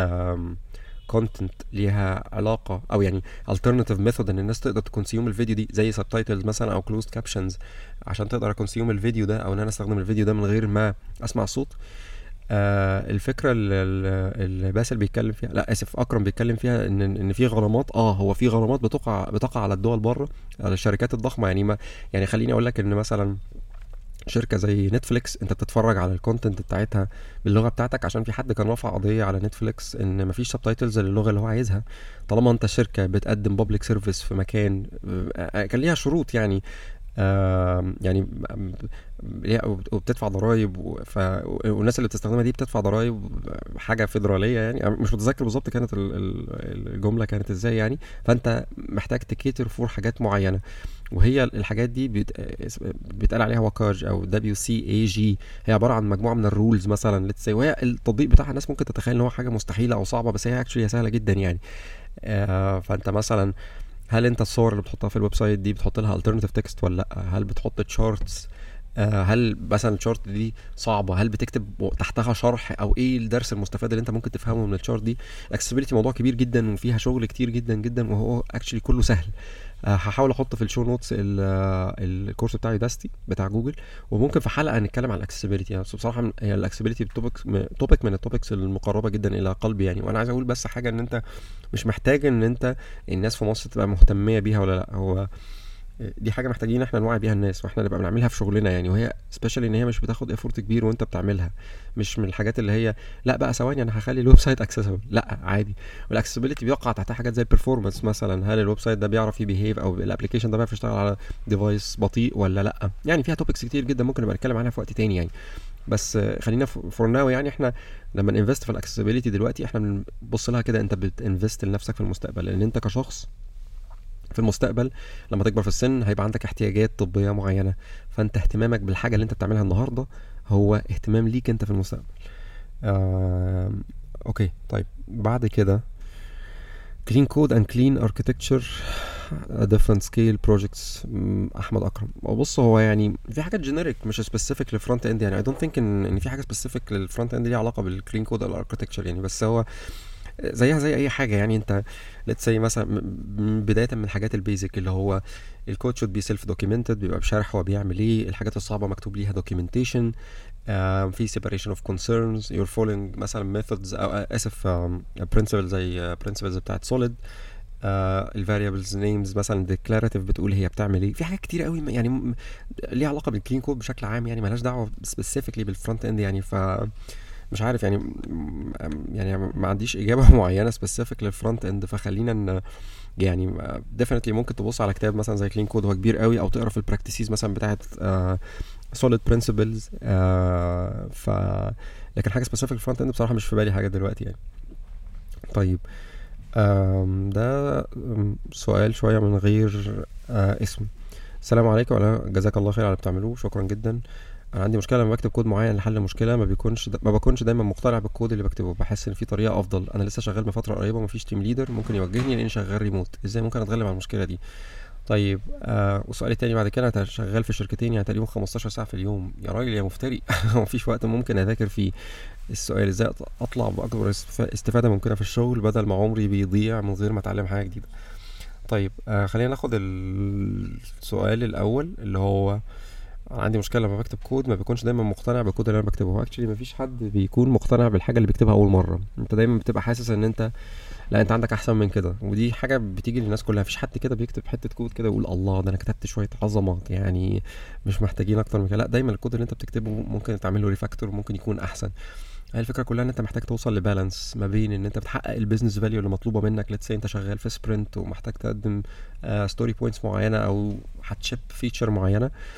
كونتنت ليها علاقه او يعني alternative method ان الناس تقدر تكونسيوم الفيديو دي زي subtitles مثلا او closed captions عشان تقدر اكونسيوم الفيديو ده، او ان انا استخدم الفيديو ده من غير ما اسمع الصوت؟ الفكره اللي باسل بيتكلم فيها، لا اسف اكرم بيتكلم فيها ان في غرامات. هو في غرامات بتقع على الدول بره، على الشركات الضخمه. يعني ما يعني خليني اقول لك ان مثلا شركه زي نتفليكس انت بتتفرج على الكونتنت بتاعتها باللغه بتاعتك عشان في حد كان رافع قضيه على نتفليكس ان مفيش سبتايتلز للغه اللي هو عايزها. طالما انت شركه بتقدم بابليك سيرفيس في مكان، كان ليها شروط يعني، يعني وبتدفع ضرائب والناس اللي بتستخدمها دي بتدفع ضرائب حاجه فيدراليه يعني. مش متذكر بالظبط كانت الجمله كانت ازاي يعني. فانت محتاج تكيتر فور حاجات معينه، وهي الحاجات دي بيتقال عليها وكاج او WCAG. هي عباره عن مجموعه من الرولز مثلا ليتس سي، وهي التطبيق بتاعها الناس ممكن تتخيل ان هو حاجه مستحيله او صعبه، بس هي اكشلي سهله جدا يعني. فانت مثلا هل انت الصور اللي بتحطها في الويب سايت دي بتحط لها alternative text ولا لا؟ هل بتحط تشارتس؟ هل مثلا الشارت دي صعبه؟ هل بتكتب تحتها شرح؟ او ايه الدرس المستفاد اللي انت ممكن تفهمه من الشارت دي؟ الاكسسبيليتي موضوع كبير جدا وفيها شغل كتير جدا جدا، وهو اكشلي كله سهل. هحاول احط في الشو نوتس الكورس بتاع يوداستي بتاع جوجل، وممكن في حلقه نتكلم عن الاكسسبيليتي يعني. بصراحه هي الاكسسبيليتي توبيك من التوبكس المقربه جدا الى قلبي يعني. وانا عايز اقول بس حاجه، ان انت مش محتاج ان انت الناس في مصر تبقى مهتميه بيها ولا لا. هو دي حاجه محتاجين احنا نوعي بيها الناس، واحنا نبقى بنعملها في شغلنا يعني. وهي سبيشالي ان هي مش بتاخد افورت كبير وانت بتعملها، مش من الحاجات اللي هي لا بقى ثواني انا هخلي الويب سايت اكسسبل، لا عادي. والاكسسبيليتي بيقع تحتها حاجات زي البرفورمانس مثلا، هل الويب سايت ده بيعرف يبيهيف او الابلكيشن ده بيعرف يشتغل على ديفايس بطيء ولا لا يعني. فيها توبكس كتير جدا ممكن نبقى نتكلم عنها في وقت تاني يعني. بس خلينا فور ناو يعني. احنا لما ننفست في الاكسسبيليتي دلوقتي احنا بنبص لها كده، انت بتنفست لنفسك في المستقبل، لان انت كشخص في المستقبل لما تكبر في السن هيبقى عندك احتياجات طبية معينة. فانت اهتمامك بالحاجة اللي انت بتعملها النهاردة هو اهتمام ليك انت في المستقبل. اوكي طيب بعد كده clean code and clean architecture different scale projects. احمد اكرم. بص هو يعني في حاجات جينيريك مش سبيسيفيك للفرونت اند يعني. I don't think ان في حاجه سبيسيفيك للفرونت اند ليها علاقه بالكلين كود او الاركتكتشر يعني. بس هو زيها زي اي حاجه يعني. انت let's say مثلا بدايه من الحاجات البيزك اللي هو الكود should be self documented، بيبقى بشرح هو بيعمل ايه. الحاجات الصعبه مكتوب ليها documentation. في separation of concerns. you're following مثلا methods او اسف principles زي principles بتاعت solid. الفاريبلز نيمز مثلا ديكلاراتيف بتقول هي بتعمل ايه. في حاجات كتير قوي يعني ليها علاقه بالكلين كود بشكل عام يعني، مالهاش دعوه سبيسيفيكلي بالفرونت اند يعني. ف مش عارف يعني، يعني ما عنديش اجابه معينه سبيسيفيك للفرونت اند. فخلينا ان يعني ديفينتلي ممكن تبص على كتاب مثلا زي كلين كود هو كبير قوي، او تقرا في البراكتيسز مثلا بتاعت سوليد برنسبلز. ف لكن حاجه سبيسيفيك للفرونت اند بصراحه مش في بالي حاجه دلوقتي يعني. طيب ده سؤال شويه من غير اسم. السلام عليكم ولا جزاك الله خير على اللي بتعملوه، شكرا جدا. انا عندي مشكله لما بكتب كود معين لحل مشكله ما بكونش دايما مقتنع بالكود اللي بكتبه. بحس ان في طريقه افضل. انا لسه شغال من فتره قريبه ومفيش تيم ليدر ممكن يوجهني لاني شغال ريموت. ازاي ممكن اتغلب على المشكله دي؟ طيب وسؤالي التاني بعد كده، انا شغال في شركتين يعني تقريبا 15 ساعه في اليوم. يا راجل يا مفتري مفيش وقت ممكن اذاكر فيه. السؤال ازاي اطلع باكبر استفاده ممكنه في الشغل بدل ما عمري بيضيع من غير ما اتعلم حاجه جديده؟ طيب خلينا ناخد السؤال الاول اللي هو عندي مشكله لما بكتب كود ما بيكونش دايما مقتنع بالكود اللي انا بكتبه. هو اكشلي مفيش حد بيكون مقتنع بالحاجه اللي بيكتبها اول مره. انت دايما بتبقى حاسس ان انت لا انت عندك احسن من كده، ودي حاجه بتيجي للناس كلها. مفيش حد كده بيكتب حته كود كده ويقول الله ده انا كتبت شويه عظمه يعني مش محتاجين اكتر من كده. لا دايما الكود اللي انت بتكتبه ممكن تعمل له ريفاكتور، ممكن يكون احسن. هي الفكره كلها ان انت محتاج توصل لبالانس ما بين ان انت بتحقق البيزنس فاليو اللي مطلوبه منك. ليتس سي انت شغال في سبرنت ومحتاج تقدم ستوري بوينتس معينه او هتشيب فيتشر معينه.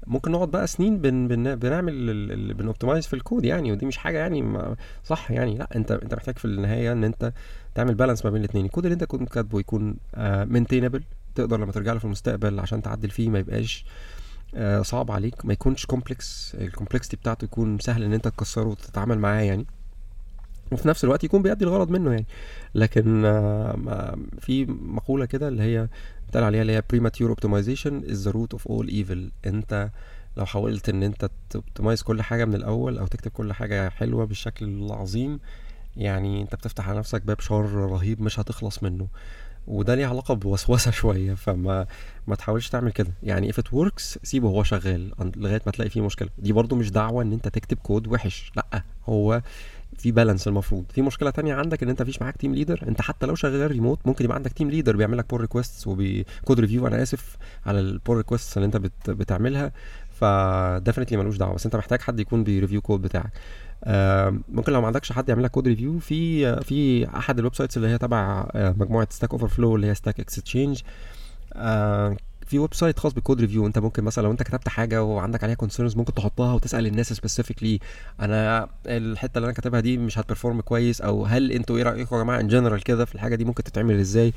ممكن نقعد بقى سنين بنعمل بنوبتمايز في الكود يعني، ودي مش حاجه يعني صح يعني. لا، انت محتاج في النهايه ان انت تعمل بالانس ما بين الاثنين. الكود اللي انت كنت كاتبه يكون مينتينبل، تقدر لما ترجع له في المستقبل عشان تعدل فيه ما يبقاش صعب عليك، ما يكونش كومبلكس، الكومبلكسيتي بتاعته يكون سهل ان انت تكسره وتتعامل معاه يعني، وفي نفس الوقت يكون بيأدي الغرض منه يعني. لكن في مقولة كده اللي هي بتقال عليها اللي هي premature optimization is the root of all evil. انت لو حاولت ان انت تoptimize كل حاجة من الاول او تكتب كل حاجة حلوة بالشكل العظيم، يعني انت بتفتح على نفسك باب شر رهيب مش هتخلص منه، وده ليه علاقة بوسوسة شوية. ما تحاولش تعمل كده يعني. if it works سيبه هو شغال لغاية ما تلاقي فيه مشكلة. دي برضو مش دعوة ان انت تكتب كود وحش، لا، هو في بالانس. المفروض في مشكله تانية عندك ان انت مفيش معاك تيم ليدر. انت حتى لو شغال ريموت ممكن يبقى عندك تيم ليدر بيعمل لك بول ريكويستس وبكود ريفيو، انا اسف، على البول ريكويستس اللي انت بتعملها. فديفنتلي ملوش دعوه، بس انت محتاج حد يكون بيريفيو كود بتاعك. ممكن لو ما عندكش حد يعمل لك كود ريفيو، في احد الويب سايتس اللي هي تبع مجموعه ستاك اوفر فلو اللي هي ستاك اكستشينج، في ويب سايت خاص بالكود ريفيو. انت ممكن مثلا لو انت كتبت حاجه وعندك عليها كونسيرنز ممكن تحطها وتسال الناس سبيسيفيكلي، انا الحته اللي انا كاتبها دي مش هتبرفورم كويس، او هل انتوا ايه رايكم يا جماعه ان جنرال كده في الحاجه دي ممكن تتعمل ازاي.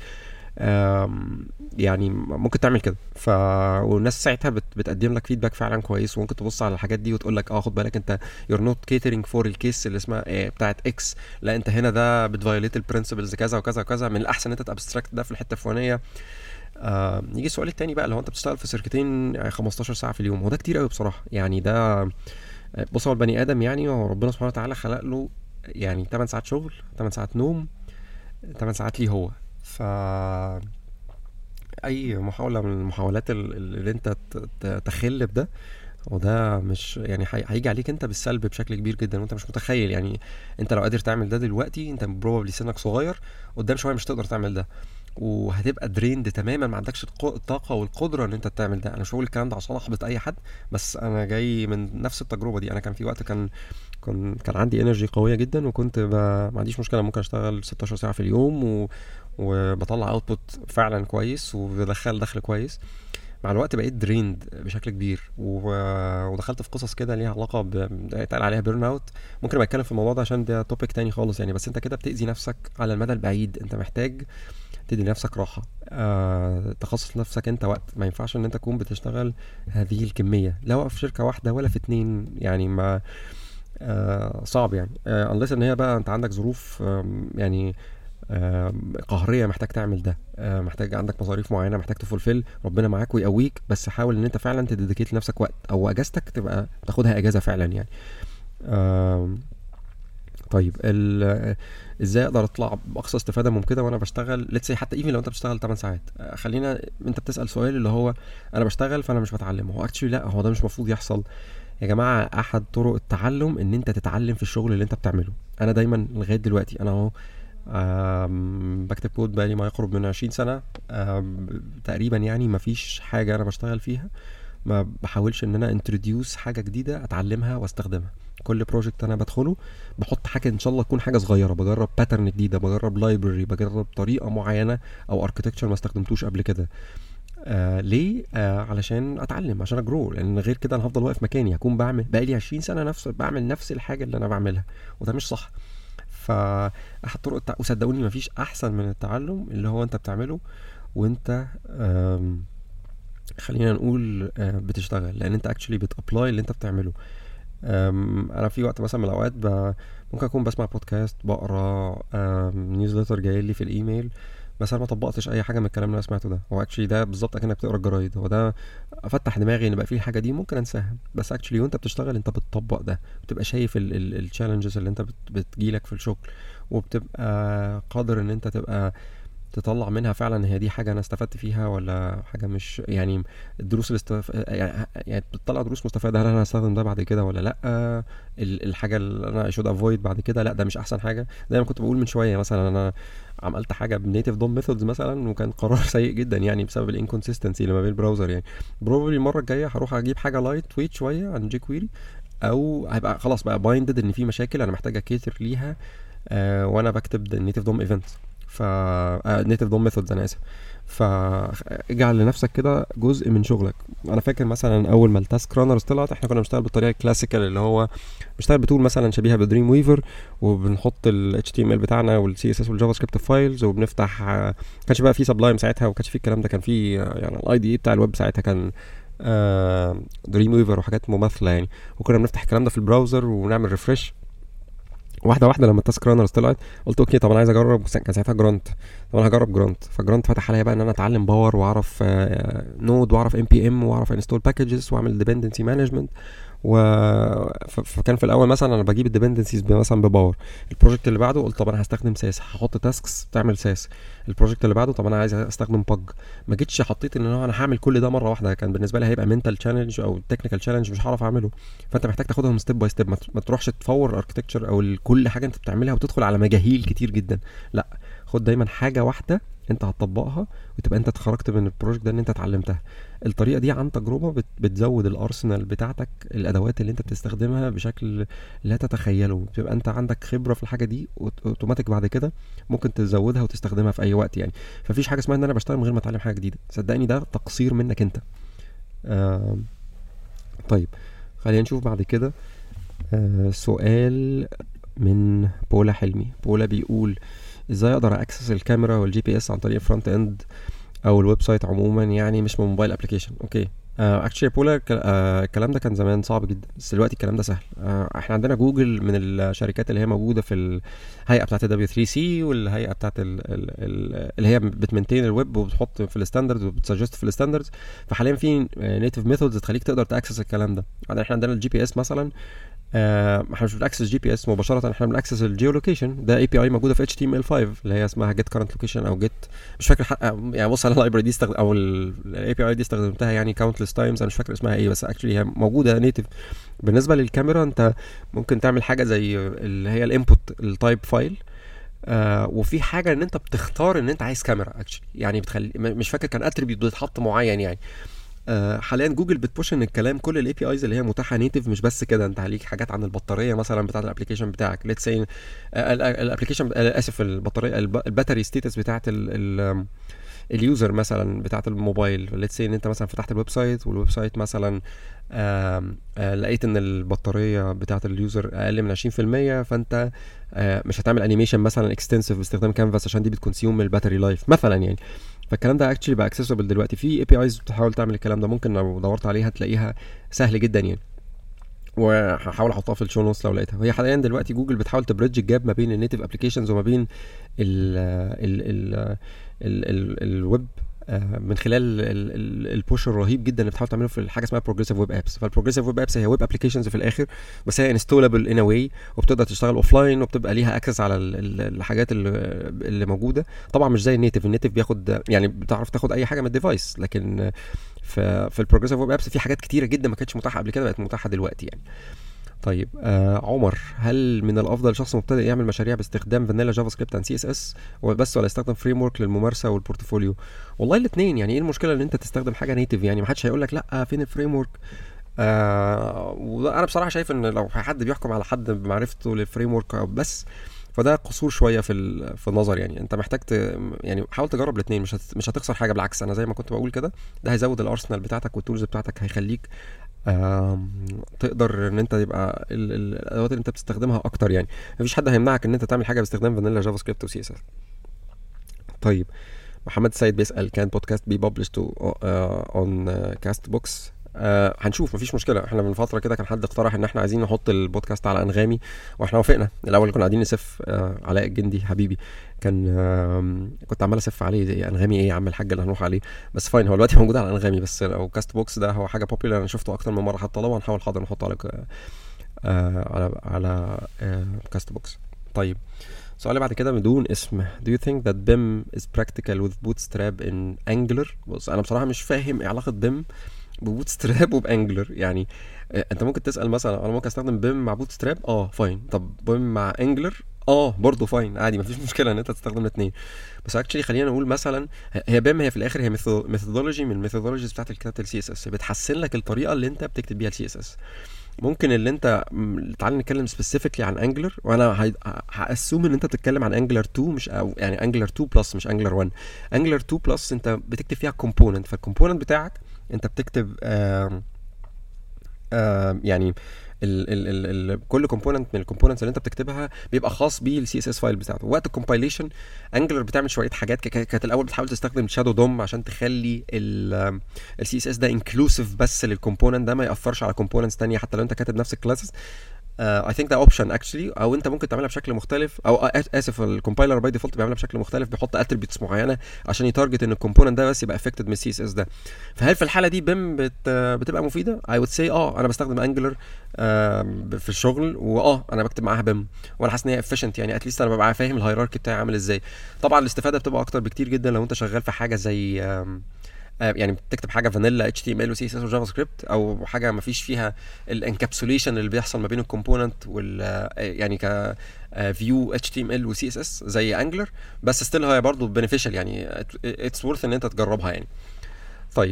يعني ممكن تعمل كده. والناس ساعتها بتقدم لك فيدباك فعلا كويس، وممكن تبص على الحاجات دي وتقول لك خد بالك انت you're not catering for الكيس اللي اسمها بتاعت اكس، لا انت هنا ده بتفايوليت البرنسبلز كذا وكذا وكذا، من الاحسن انت تابستراكت ده في الحته الفلانيه. يجي السؤال التاني بقى، لو انت بتشتغل في شركتين يعني 15 ساعه في اليوم، هو ده كتير قوي بصراحه يعني. ده بص، هو البني ادم يعني ربنا سبحانه وتعالى خلق له يعني 8 ساعات شغل، 8 ساعات نوم، 8 ساعات ليه هو. ف اي محاوله من المحاولات اللي انت تخل بده، وده مش يعني هيجي عليك انت بالسلب بشكل كبير جدا، وانت مش متخيل يعني. انت لو قادر تعمل ده دلوقتي، انت بروبابلي سنك صغير، قدام شويه مش تقدر تعمل ده، وهتبقى دريند تماما، ما عندكش الطاقه والقدره ان انت تعمل ده. انا مش بقول الكلام ده عشان احبط اي حد، بس انا جاي من نفس التجربه دي. انا كان في وقت كان عندي انرجي قويه جدا، وكنت ما عنديش مشكله، ممكن اشتغل 16 ساعه في اليوم وبطلع اوتبوت فعلا كويس وبدخل دخل كويس. مع الوقت بقيت دريند بشكل كبير، ودخلت في قصص كده ليها علاقه اتقال عليها بيرن اوت. ممكن ابقى اتكلم في الموضوع ده عشان ده توبيك تاني خالص يعني. بس انت كده بتاذي نفسك على المدى البعيد. انت محتاج تدي نفسك راحه، تخصص نفسك انت وقت. ما ينفعش ان انت تكون بتشتغل هذه الكميه لا في شركه واحده ولا في اتنين يعني. ما صعب يعني، unless ان هي بقى انت عندك ظروف يعني قهريه محتاج تعمل ده، محتاج عندك مصاريف معينه محتاج تفولفل، ربنا معاك ويقويك. بس حاول ان انت فعلا تديديكيت لنفسك وقت، او اجازتك تبقى تاخدها اجازه فعلا يعني. طيب ازاي اقدر اطلع باقصى استفاده ممكنه وانا بشتغل؟ ليتس حتى ايفن لو انت بتشتغل 8 ساعات، خلينا انت بتسال سؤال اللي هو انا بشتغل فانا مش بتعلم. هو اكشلي لا، هو ده مش مفروض يحصل يا جماعه. احد طرق التعلم ان انت تتعلم في الشغل اللي انت بتعمله. انا دايما لغايه دلوقتي انا اهو بكتب كود بقالي ما يقرب من 20 سنة تقريبا يعني. ما فيش حاجة انا بشتغل فيها ما بحاولش ان انا انتروديوس حاجة جديدة اتعلمها واستخدمها. كل بروجكت انا بدخله بحط حاجة ان شاء الله تكون حاجة صغيرة، بجرب باترن جديدة، بجرب لايبرري، بجرب طريقة معينة او اركتكتشر ما استخدمتوش قبل كده. ليه؟ علشان اتعلم، عشان اجرو. لان غير كده انا هفضل واقف مكاني، هكون بعمل بقالي 20 سنة بعمل نفس الحاجة اللي انا بعملها، وده مش صح. فاحد طرق وصدقوني مفيش احسن من التعلم اللي هو انت بتعمله وانت خلينا نقول بتشتغل، لان انت اكشلي بتابلاي اللي انت بتعمله. انا في وقت مثلا من الاوقات ممكن اكون بسمع بودكاست، بقرا نيوزلتر جاي لي في الايميل، بس انا ما طبقتش اي حاجه من الكلام اللي انا سمعته ده. هو اكشلي ده بالظبط اكنك بتقرا الجرايد. هو ده افتح دماغي ان بقى في الحاجه دي ممكن انساها، بس اكشلي وانت بتشتغل انت بتطبق ده، بتبقى شايف التشالنجز اللي انت بتجيلك في الشغل، وبتبقى قادر ان انت تبقى تطلع منها فعلا هي دي حاجه انا استفدت فيها ولا حاجه مش يعني. الدروس يعني بتطلع دروس مستفاده، هل انا هستخدم ده بعد كده ولا لا؟ الحاجه اللي انا should avoid بعد كده، لا ده مش احسن حاجه. زي ما كنت بقول من شويه، مثلا انا عملت حاجه بنيتيف دوم ميثودز مثلا، وكان قرار سيء جدا يعني بسبب الانكونسيستنسي اللي ما بين البراوزر يعني. بروبلي المره الجايه هروح اجيب حاجه لايت ويت شويه عن جي كويري، او هيبقى خلاص بقى بايندد ان في مشاكل انا محتاج اكيتر ليها وانا بكتب النيتيف دوم ايفنت. ف نيتف دوم ميثودز انا اسف. فاجعل لنفسك كده جزء من شغلك. انا فاكر مثلا اول ما التاسك رانرز طلعت احنا كنا بنشتغل بالطريقه الكلاسيكال اللي هو بنشتغل بتول مثلا شبيهه بدريم ويفر، وبنحط ال HTML بتاعنا وال CSS والجافا سكريبت فايلز، وبنفتح كانش بقى في سبلايم ساعتها وكانش في الكلام ده، كان في يعني الاي دي بتاع الويب ساعتها كان دريم ويفر وحاجات مماثله يعني، وكنا بنفتح الكلام ده في البراوزر ونعمل ريفرش. واحده واحده لما التاسك رانرز طلعت قلت اوكي طب انا عايز اجرب، كان ساعتها جرانت، طب انا هجرب جرانت. فجرانت فتح عليا بقى ان انا اتعلم باور واعرف نود واعرف NPM واعرف انستول باكجز واعمل ديبندنسي مانجمنت. فكان في الاول مثلا انا بجيب الديبندنسيز مثلا بباور. البروجكت اللي بعده قلت طب انا هستخدم ساس، هحط تاسكس تعمل ساس. البروجكت اللي بعده طب انا عايز استخدم باج. ما جيتش حطيت ان انا هعمل كل ده مره واحده، كان بالنسبه لي هيبقى منتال تشالنج او تكنيكال تشالنج مش هعرف اعمله. فانت محتاج تاخدهم ستيب باي ستيب، ما تروحش تفور اركتكتشر او كل حاجه انت بتعملها وتدخل على مجاهيل كتير جدا. لا، خد دايما حاجه واحده انت هتطبقها وتبقى انت اتخرجت من البروجكت ده ان انت اتعلمتها. الطريقه دي عن تجربه بتزود الارسنال بتاعتك، الادوات اللي انت بتستخدمها بشكل لا تتخيله، بتبقى انت عندك خبره في الحاجه دي اوتوماتيك بعد كده ممكن تزودها وتستخدمها في اي وقت يعني. ففيش حاجه اسمها ان انا بشتغل من غير ما اتعلم حاجه جديده، صدقني ده تقصير منك انت. طيب خلينا نشوف بعد كده سؤال من بولا حلمي. بولا بيقول ازاي اقدر اكسس الكاميرا والجي بي اس عن طريق الفرونت اند او الويب سايت عموما، يعني مش من موبايل ابلكيشن. اوكي اكشلي بولا الكلام ده كان زمان صعب جدا، بس دلوقتي الكلام ده سهل. احنا عندنا جوجل من الشركات اللي هي موجوده في الهيئه بتاعه W3C والهيئه بتاعه اللي هي بتمنتين الويب وبتحط في الستاندردز وبتسجست في الستاندردز. فحاليا في نيتيف ميثودز تخليك تقدر تاكسس الكلام ده. بعدين احنا عندنا الجي بي اس مثلا، احنا مش بنأكسس جي بي اس مباشره، احنا بنأكسس الجيو لوكيشن. ده اي بي اي موجوده في HTML5 اللي هي اسمها جيت كارنت لوكيشن او جيت، مش فاكر يعني بص انا اللايبرري دي او الاي بي اي دي استخدمتها يعني كاونتلس تايمز، انا مش فاكر اسمها ايه، بس اكشلي هي موجوده نيتيف. بالنسبه للكاميرا انت ممكن تعمل حاجه زي اللي هي الانبوت التايب فايل، وفي حاجه ان انت بتختار ان انت عايز كاميرا اكشلي، يعني بتخلي مش فاكر كان اتريبيوت بيتحط معين يعني. حاليا جوجل بتبوش ان الكلام كل الاي بي ايز اللي هي متاحه نيتيف، مش بس كده، انت عليك حاجات عن البطاريه مثلا بتاعه الابلكيشن بتاعك. ليتس سي الابلكيشن اسف البطاريه الباتري ستيتس بتاعه اليوزر مثلا بتاعه الموبايل. ليتس سي ان انت مثلا فتحت الويب سايت والويب سايت مثلا لقيت ان البطاريه بتاعه اليوزر اقل من 20%، فانت مش هتعمل انيميشن مثلا اكستنسيف باستخدام كانفاس عشان دي بتكونسيوم الباتري لايف مثلا يعني. فالكلام ده اكشلي بقى اكسسبل دلوقتي في اي بي ايز بتحاول تعمل الكلام ده، ممكن لو دورت عليها تلاقيها سهل جدا يعني، وهحاول احطها في الشو نوتس لو لقيتها. وهي حاليا دلوقتي جوجل بتحاول تبريدج الجاب ما بين النيتيف ابلكيشنز وما بين ال ال ال الويب من خلال البوش الرهيب جدا اللي بتحاول تعمله في حاجه اسمها بروجريسيف ويب ابس. فالبروجريسيف ويب ابس هي ويب ابلكيشنز في الاخر، بس هي انستولابل ان واي، وبتقدر تشتغل اوف لاين وبتبقى ليها اكسس على الحاجات اللي موجوده. طبعا مش زي النيتيف بياخد يعني بتعرف تاخد اي حاجه من الديفايس، لكن في البروجريسيف ويب ابس في حاجات كتيره جدا ما كانتش متاحه قبل كده بقت متاحه دلوقتي يعني. طيب عمر، هل من الافضل شخص مبتدئ يعمل مشاريع باستخدام فانيلا جافا سكريبت عن CSS وبس، ولا يستخدم فريم ورك للممارسه والبورتفوليو؟ والله الاثنين يعني، ايه المشكله ان انت تستخدم حاجه نيتيف؟ يعني ما حدش هيقول لك لا فين الفريم ورك. وانا بصراحه شايف ان لو حد بيحكم على حد بمعرفته للفريم ورك بس فده قصور شويه في النظر يعني. انت محتاج يعني حاول تجرب الاثنين، مش هتخسر حاجه، بالعكس انا زي ما كنت بقول كده ده هيزود الارسنال بتاعتك والتولز بتاعتك، هيخليك تقدر ان انت يبقى الادوات اللي انت بتستخدمها اكتر يعني. مفيش حد هيمنعك ان انت تعمل حاجه باستخدام فانيلا جافا سكريبت وسي اس اس. طيب محمد السيد بيسال كان بودكاست بي ببلشد اون كاست بوكس؟ هنشوف، مفيش مشكله. احنا من فتره كده كان حد اقترح ان احنا عايزين نحط البودكاست على انغامي، واحنا وافقنا. الاول كنا قاعدين نسف علاء الجندي حبيبي كنت عمال اسف عليه زي انغامي ايه يا عم الحاج اللي هنروح عليه، بس فاين هو دلوقتي موجود على انغامي. بس لو كاست بوكس ده هو حاجه بوبيلر انا شفته اكتر من مره، حتى لو هنحاول حاضر نحطه على كاست بوكس. طيب السؤال اللي بعد كده بدون اسم: Do you think that BIM is practical with Bootstrap in Angular؟ بص انا بصراحه مش فاهم ايه علاقه BIM ببوتستراب وبانجلر يعني. انت ممكن تسال مثلا انا ممكن استخدم بيم مع بوتستراب فاين، طب بيم مع انجلر برضه فاين عادي، مفيش مشكله ان انت تستخدم الاثنين. بس اكشلي خلينا نقول مثلا هي بيم هي في الاخر هي ميثودولوجي من الميثودولوجيز بتاعت الكتابه السي اس اس، بتحسن لك الطريقه اللي انت بتكتب بيها السي اس اس. ممكن اللي انت تعالى نتكلم سبيسيفيكلي عن انجلر، وانا هاسوم ان انت بتتكلم عن انجلر 2 مش او يعني انجلر 2 بلس مش انجلر 1. انجلر 2 بلس انت بتكتب فيها كومبوننت، فالكومبوننت بتاعك انت بتكتب يعني كل كومبوننت من الكومبوننتس اللي انت بتكتبها بيبقى خاص بيه السي اس اس فايل بتاعته. وقت الكومبايليشن انجلر بتعمل شويه حاجات. كانت الاول بتحاول تستخدم شادو دوم عشان تخلي السي اس اس ده انكلوسيف بس للكومبوننت ده، ما ياثرش على كومبوننتس ثانيه حتى لو انت كاتب نفس الكلاسز. اي ثينك ده اوبشن اكشلي، او انت ممكن تعملها بشكل مختلف، او اسف الكومبايلر باي ديفولت بيعملها بشكل مختلف، بيحط اتريبيوتس معينه عشان يتارجت ان الكومبوننت ده بس يبقى افكتد من السي اس اس ده. فهل في الحاله دي بيم بتبقى مفيده؟ اي وود سي انا بستخدم انجلر في الشغل، انا بكتب معاها بيم وانا حاسس ان هي افيشنت، يعني اتليست انا ببقى فاهم الهيراركي بتاعي عامل ازاي. طبعا الاستفاده بتبقى اكتر بكتير جدا لو انت شغال في حاجه زي يعني بتكتب حاجه فانيلا اتش تي ام ال وسي اس اس وجافا سكريبت، او حاجه ما فيش فيها الانكابسوليشن اللي بيحصل ما بين الكومبوننت وال يعني ك فيو اتش تي ام ال وسي اس اس زي انجلر، بس ستيل هي برضه بنفيشال، يعني اتس ورث ان انت تجربها يعني. طيب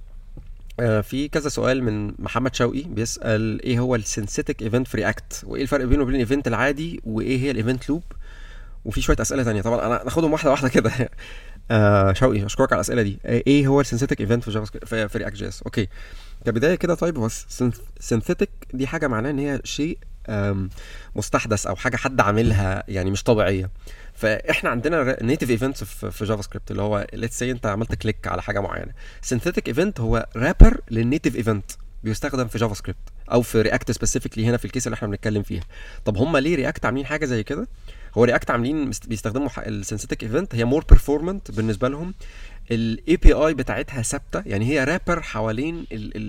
في كذا سؤال من محمد شوقي بيسال ايه هو السينثيتك ايفنت في رياكت، وايه الفرق بينه وبين الايفنت العادي، وايه هي الايفنت لوب، وفي شويه اسئله ثانيه. طبعا انا ناخدهم واحده واحده كده. شوقي اشكرك على الاسئله دي. ايه هو السينثيتك ايفنت في جافا سكريبت في رياكت جي اس؟ اوكي كبدايه كده. طيب هو سينثيتك دي حاجه معناها ان هي شيء مستحدث او حاجه حد عاملها يعني مش طبيعيه. فاحنا عندنا نيتيف ايفنتس في جافا سكريبت اللي هو ليتس سي انت عملت كليك على حاجه معينه. سينثيتك ايفنت هو رابر للنيتيف ايفنت بيستخدم في جافا سكريبت او في رياكت سبيسيفيكلي هنا في الكيس اللي احنا بنتكلم فيها. طب هم ليه رياكت عاملين حاجه زي كده؟ هو رياكت عاملين بيستخدموا السينثيتك ايفنت، هي مور بيرفورمانت بالنسبه لهم. الاي بي اي بتاعتها ثابته، يعني هي رابر حوالين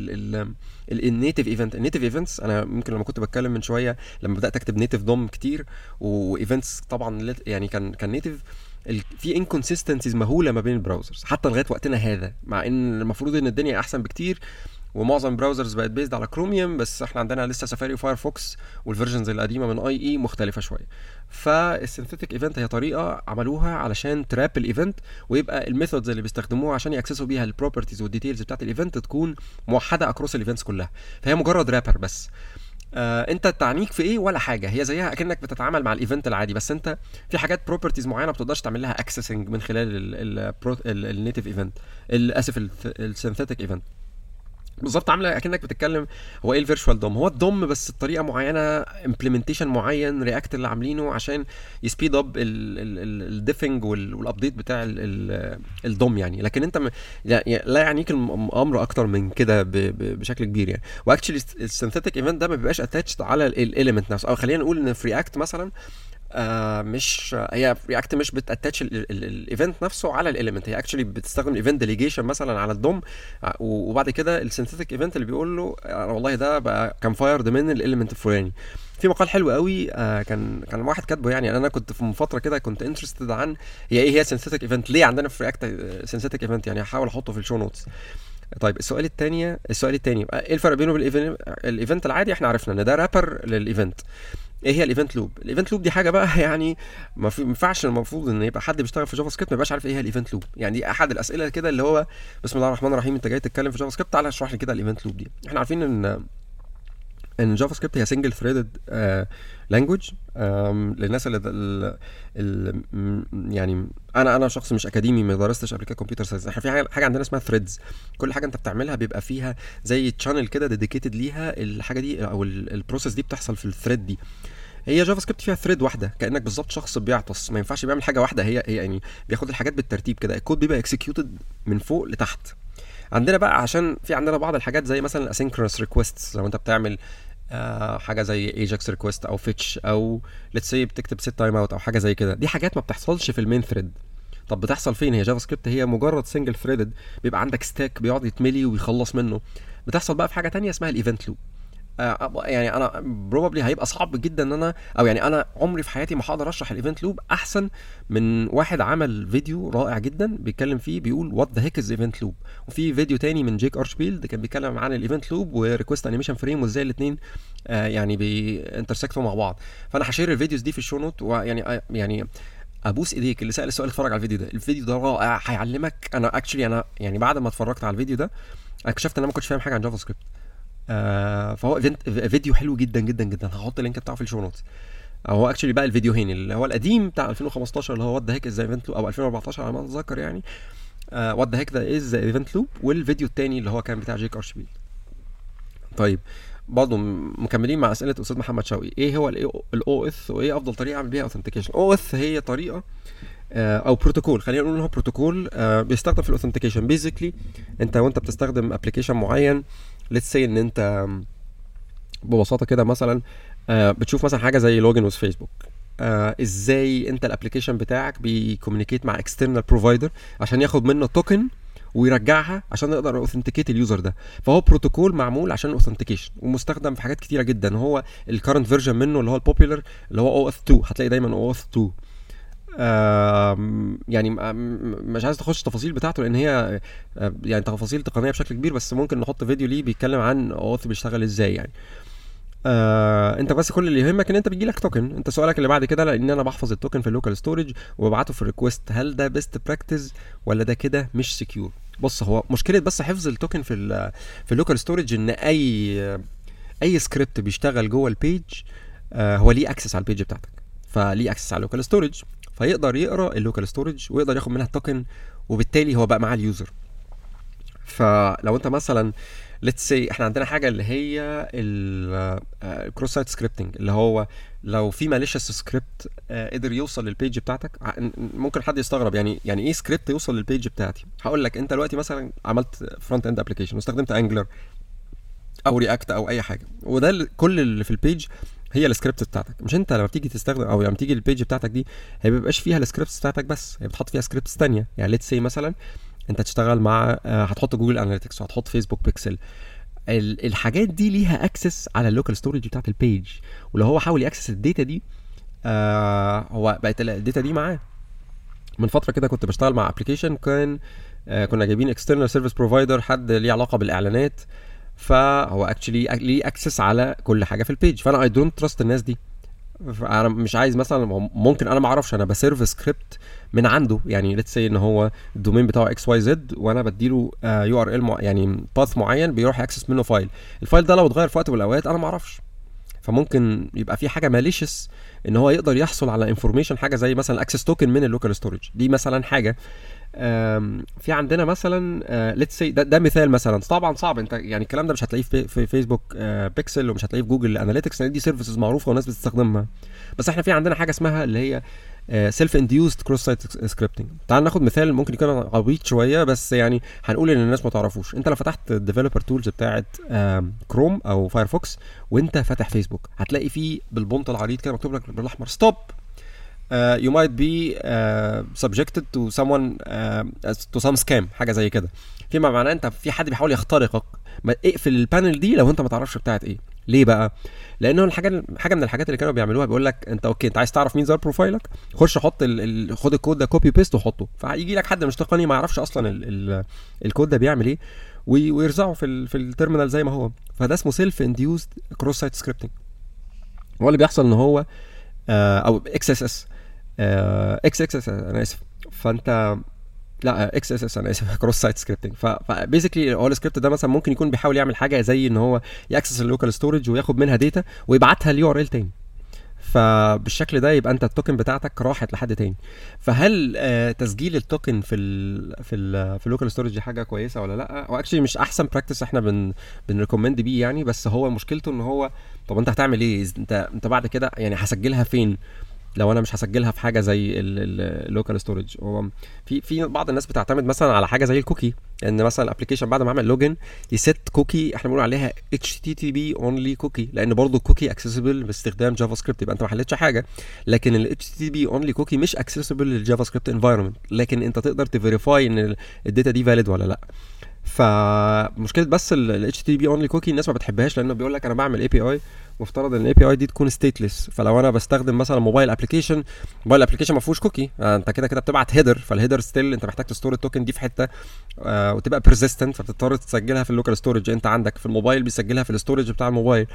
النيتيف ايفنت. النيتيف ايفنتس انا ممكن لما كنت بتكلم من شويه لما بدات اكتب نيتيف دوم كتير وايفنتس طبعا يعني كان نيتيف في انكونسيستنسيز مهوله ما بين البراوزرز حتى لغايه وقتنا هذا، مع ان المفروض ان الدنيا احسن بكتير ومعظم البراوزرز بقت بيزد على كروميوم، بس احنا عندنا لسه سفاري وفايرفوكس والفيرجنز القديمه من اي مختلفه شويه. فالسينثيتك ايفنت هي طريقه عملوها علشان تراب الايفنت، ويبقى الميثودز اللي بيستخدموها عشان ياكسسوا بيها البروبرتيز والديتيلز بتاعت الايفنت تكون موحده اكروس الايفنتس كلها. فهي مجرد رابر بس. انت تعنيك في ايه ولا حاجه، هي زيها اكنك بتتعامل مع الايفنت العادي، بس انت في حاجات بروبرتيز معينه ما بتقدرش تعمل لها اكسسنج من خلال النيتيف ايفنت، اسف السينثيتك ايفنت. بالظبط عامله اكنك بتتكلم هو ايه الفيرتشوال دوم. هو الدوم بس بطريقه معينه، امبلمنتيشن معين رياكت اللي عاملينه عشان يسبيد اب الديفنج والابديت بتاع الدوم يعني. لكن انت لا يعنيك الامر اكتر من كده بشكل كبير يعني. واكشلي السينثيتك ايفنت ده ما بيبقاش اتاتشد على الاليمنت نفسه، او خلينا نقول ان في رياكت مثلا مش هي رياكت مش بتاتاتش الايفنت نفسه على الاليمنت، هي اكشلي بتستخدم الايفنت ديليجيشن مثلا على الدوم، وبعد كده السينثيتك ايفنت اللي بيقول له والله ده بقى كان فايرد من الاليمنت الفلاني. في مقال حلو قوي كان واحد كاتبه، يعني انا كنت في فتره كده كنت انترستد عن هي سينثيتك ايفنت ليه عندنا في رياكت سينثيتك ايفنت، يعني هحاول احطه في الشو نوتس. طيب السؤال الثاني ايه الفرق بينه وبين الايفنت العادي؟ احنا عرفنا ان ده رابر للايفنت. ايه هي الايفنت لوب؟ الايفنت لوب دي حاجه بقى يعني ما ينفعش المفروض ان يبقى حد بيشتغل في جافا سكريبت ما يبقاش عارف ايه هي الايفنت لوب. يعني دي احد الاسئله كده اللي هو بسم الله الرحمن الرحيم انت جاي تتكلم في جافا سكريبت، تعالى اشرح لي كده الايفنت لوب دي. احنا عارفين ان جافا سكريبت هي سنجل ثريدد لانجويج. للناس اللي يعني انا شخص مش اكاديمي ما درستش قبل كده كمبيوتر ساينس. احنا في حاجه عندنا اسمها ثريدز، كل حاجه انت بتعملها بيبقى فيها زي تشانل كده ديديكيتد ليها الحاجه دي او البروسيس دي بتحصل في الثريد دي. هي جافا سكريبت فيها ثريد واحده، كانك بالظبط شخص بيعطس ما ينفعش بيعمل حاجه واحده، هي يعني بياخد الحاجات بالترتيب كده، الكود بيبقى اكسكيوتد من فوق لتحت. عندنا بقى عشان في عندنا بعض الحاجات زي مثلا الاسynchronous requests، لو انت بتعمل حاجه زي ايجاكس ريكويست او فيتش او ليتس سي بتكتب سيت تايم اوت او حاجه زي كده، دي حاجات ما بتحصلش في المين ثريد. طب بتحصل فين؟ هي جافا سكريبت هي مجرد سنجل ثريدد، بيبقى عندك ستاك بيقعد يتملي ويخلص منه. بتحصل بقى في حاجه تانية اسمها الايفنت لوب. يعني انا بروبابلي هيبقى صعب جدا ان انا او يعني انا عمري في حياتي ما هقدر اشرح الايفنت لوب احسن من واحد عمل فيديو رائع جدا بيتكلم فيه بيقول وات ذا هيك از ايفنت لوب، وفي فيديو تاني من جيك ارشبيلد كان بيتكلم عن الايفنت لوب وريكوست انيميشن فريم وازاي الاثنين يعني بينترسكتوا مع بعض. فانا هشير الفيديوز دي في الشو نوت، ويعني ابوس ايديك اللي سال السؤال اتفرج على الفيديو ده، الفيديو ده رائع هيعلمك. انا اكشلي انا يعني بعد ما اتفرجت على الفيديو ده اكتشفت ان انا ما كنتش فاهم حاجه عن جافا سكريبت. فهو فيديو حلو جدا جدا جدا، هحط اللينك بتاعه في الشو نوتس. هو اكشلي بقى الفيديوهين، اللي هو القديم بتاع 2015 اللي هو وات ذا هيك از ايفنت لوب، او 2014 على ما اتذكر يعني، وات ذا هيك ذا از ايفنت لوب، والفيديو التاني اللي هو كان بتاع جيك ارشبيل. طيب برضه مكملين مع اسئله استاذ محمد شوقي، ايه هو الاو اث وايه افضل طريقه اعمل بيها اوثنتيكيشن؟ او اث هي طريقه او بروتوكول، خلينا نقول ان هو بروتوكول بيستخدم في الاوثنتيكيشن. بيزيكلي انت وانت بتستخدم ابلكيشن معين، ليتس سي ان انت ببساطه كده مثلا بتشوف مثلا حاجه زي لوجن وذ فيسبوك، ازاي انت الابلكيشن بتاعك بيكوميونيكيت مع اكسترنال بروفايدر عشان ياخد منه توكن ويرجعها عشان يقدر اوثنتيكيت اليوزر ده. فهو بروتوكول معمول عشان الاوثنتيكيشن ومستخدم في حاجات كتيره جدا. هو الكرنت فيرجن منه اللي هو البوبيلر اللي هو او اث 2، هتلاقي دايما او اث 2. يعني مش عايز تخش تفاصيل بتاعته لان هي يعني تفاصيل تقنيه بشكل كبير، بس ممكن نحط فيديو ليه بيتكلم عن اوث بيشتغل ازاي يعني. انت بس كل اللي يهمك ان انت بيجيلك توكن. انت سؤالك اللي بعد كده، لان انا بحفظ التوكن في اللوكال ستورج وببعته في الريكوست، هل ده بيست براكتس ولا ده كده مش سكيور؟ بص، هو مشكله بس حفظ التوكن في اللوكال ستورج ان اي سكريبت بيشتغل جوه البيج هو ليه اكسس على البيج بتاعتك، فليه اكسس على اللوكال ستورج، فيقدر يقرا اللوكال ستورج ويقدر ياخد منها التوكن، وبالتالي هو بقى مع اليوزر. فلو انت مثلا ليتس سي احنا عندنا حاجه اللي هي الكروس سايت سكريبتنج، اللي هو لو في ماليشيس سكريبت قدر يوصل للبيج بتاعتك. ممكن حد يستغرب يعني ايه سكريبت يوصل للبيج بتاعتي؟ هقول لك، انت دلوقتي مثلا عملت فرونت اند ابلكيشن واستخدمت انجلر او رياكت او اي حاجه، وده كل اللي في البيج هي السكريبت بتاعتك. مش انت لما بتيجي تستخدم او لما تيجي البيج بتاعتك دي، هي ما بيبقاش فيها السكريبتس بتاعتك بس، هي بتحط فيها سكريبتس ثانيه. يعني ليتس سي مثلا انت تشتغل مع هتحط جوجل اناليتكس وهتحط فيسبوك بيكسل، الحاجات دي ليها اكسس على اللوكال ستورج بتاعت البيج، ولو هو حاول ياكسس الداتا دي هو بقت الداتا دي معاه. من فتره كده كنت بشتغل مع ابلكيشن كنا جايبين اكسترنال سيرفيس بروفايدر، حد ليه علاقه بالاعلانات، فهو اكشلي ليه اكسس على كل حاجه في البيج، فانا اي دونت تراست الناس دي. انا مش عايز مثلا، ممكن انا ما اعرفش، انا بسيرف سكريبت من عنده، يعني ليتس سي ان هو الدومين بتاعه اكس واي زد، وانا بديله يو ار ال يعني باث معين بيروح ياكسس منه فايل. الفايل ده لو اتغير في وقت من الاوقات انا ما اعرفش، فممكن يبقى في حاجه ماليشس ان هو يقدر يحصل على انفورميشن، حاجه زي مثلا اكسس توكن من اللوكال ستورج دي مثلا حاجه. في عندنا مثلا ليتس سي ده مثال مثلا، طبعا صعب انت يعني الكلام ده مش هتلاقيه في فيسبوك بيكسل، ومش هتلاقيه في جوجل اناليتكس، لان دي سيرفيسز معروفه والناس بتستخدمها. بس احنا في عندنا حاجه اسمها اللي هي سيلف انديوست كروس سايت سكريبتنج. تعال ناخد مثال ممكن يكون عبيط شويه، بس يعني هنقول ان الناس ما تعرفوش. انت لو فتحت الديفلوبر تولز بتاعه كروم او فايرفوكس وانت فاتح فيسبوك، هتلاقي فيه بالبونت العريض كده مكتوب لك بالاحمر ستوب you might be subjected to someone to some scam، حاجه زي كده. فيما معناه انت في حد بيحاول يخترقك، ما اقفل البانل دي لو انت ما تعرفش بتاعت ايه. ليه بقى؟ لانه حاجه من الحاجات اللي كانوا بيعملوها، بيقول لك انت اوكي، انت عايز تعرف مين زار بروفايلك، خش حط خد الكود ده كوبي بيست وحطه، فهيجي لك حد مش تقني ما يعرفش اصلا الكود ده بيعمل ايه، ويرزعه في التيرمينال زي ما هو. فده اسمه سيلف انديوست كروس سايت سكريبتنج. هو اللي بيحصل ان هو او اكس اس اس انا اسف، فانت لا اكس اس اس انا اسف كروس سايت سكريبتنج. فبيزيكلي هو السكريبت ده مثلا ممكن يكون بيحاول يعمل حاجه زي ان هو ياكسس اللوكال ستورج وياخد منها داتا ويبعتها اليو ار ال تاني، فبالشكل ده يبقى انت التوكن بتاعتك راحت لحد تاني. فهل تسجيل التوكن في اللوكال ستورج دي حاجه كويسه ولا لا؟ هو اكشلي مش احسن براكتس احنا بنريكومند بيه يعني، بس هو مشكلته ان هو طب انت هتعمل ايه؟ انت بعد كده يعني هسجلها فين لو انا مش هسجلها في حاجه زي اللوكال ستورج؟ هو في بعض الناس بتعتمد مثلا على حاجه زي الكوكي، ان مثلا الابلكيشن بعد ما اعمل لوجن يست كوكي، احنا بنقول عليها HTTP اونلي كوكي، لان برضو الكوكي اكسسبل باستخدام جافا سكريبت، يبقى انت ما حلتش حاجه. لكن ال HTTP اونلي كوكي مش اكسسبل للجافا سكريبت انفايرمنت، لكن انت تقدر تفيريفاي ان الداتا دي فاليد ولا لا. فمشكله بس ال HTTP only cookie الناس ما بتحبهاش، لانه بيقول لك انا بعمل API مفترض ان API دي تكون stateless، فلو انا بستخدم مثلا موبايل ابلكيشن ما فيهوش كوكي، انت كده بتبعت هيدر، فالهيدر ستيل انت محتاج تستور التوكن دي في حته وتبقى persistent، فبتضطر تسجلها في اللوكال ستورج. انت عندك في الموبايل بيسجلها في الستورج بتاع الموبايل.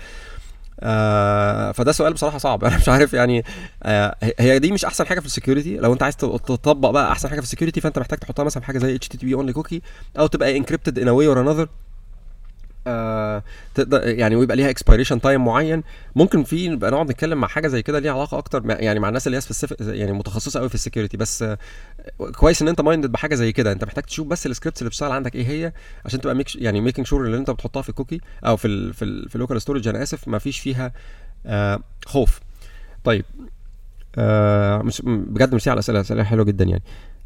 فده سؤال بصراحه صعب، انا مش عارف يعني. هي دي مش احسن حاجه في السكيورتي. لو انت عايز تطبق بقى احسن حاجه في السكيورتي، فانت محتاج تحطها مثلا في حاجه زي HTTP only cookie، او تبقى encrypted in a way or another. تقدر يعني، ويبقى ليها اكسبيريشن تايم معين. ممكن في نبقى نقعد نتكلم مع حاجه زي كده ليها علاقه اكتر يعني مع الناس اللي هي يعني متخصصه قوي في السكيورتي. بس كويس ان انت مايندد بحاجه زي كده. انت محتاج تشوف بس السكريبتس اللي بتشتغل عندك ايه هي، عشان تبقى يعني ميكينج شور اللي انت بتحطها في الكوكي او في اللوكال ستورج، انا اسف، ما فيش فيها خوف. طيب مش بجد مش على اسئله حلوه جدا يعني.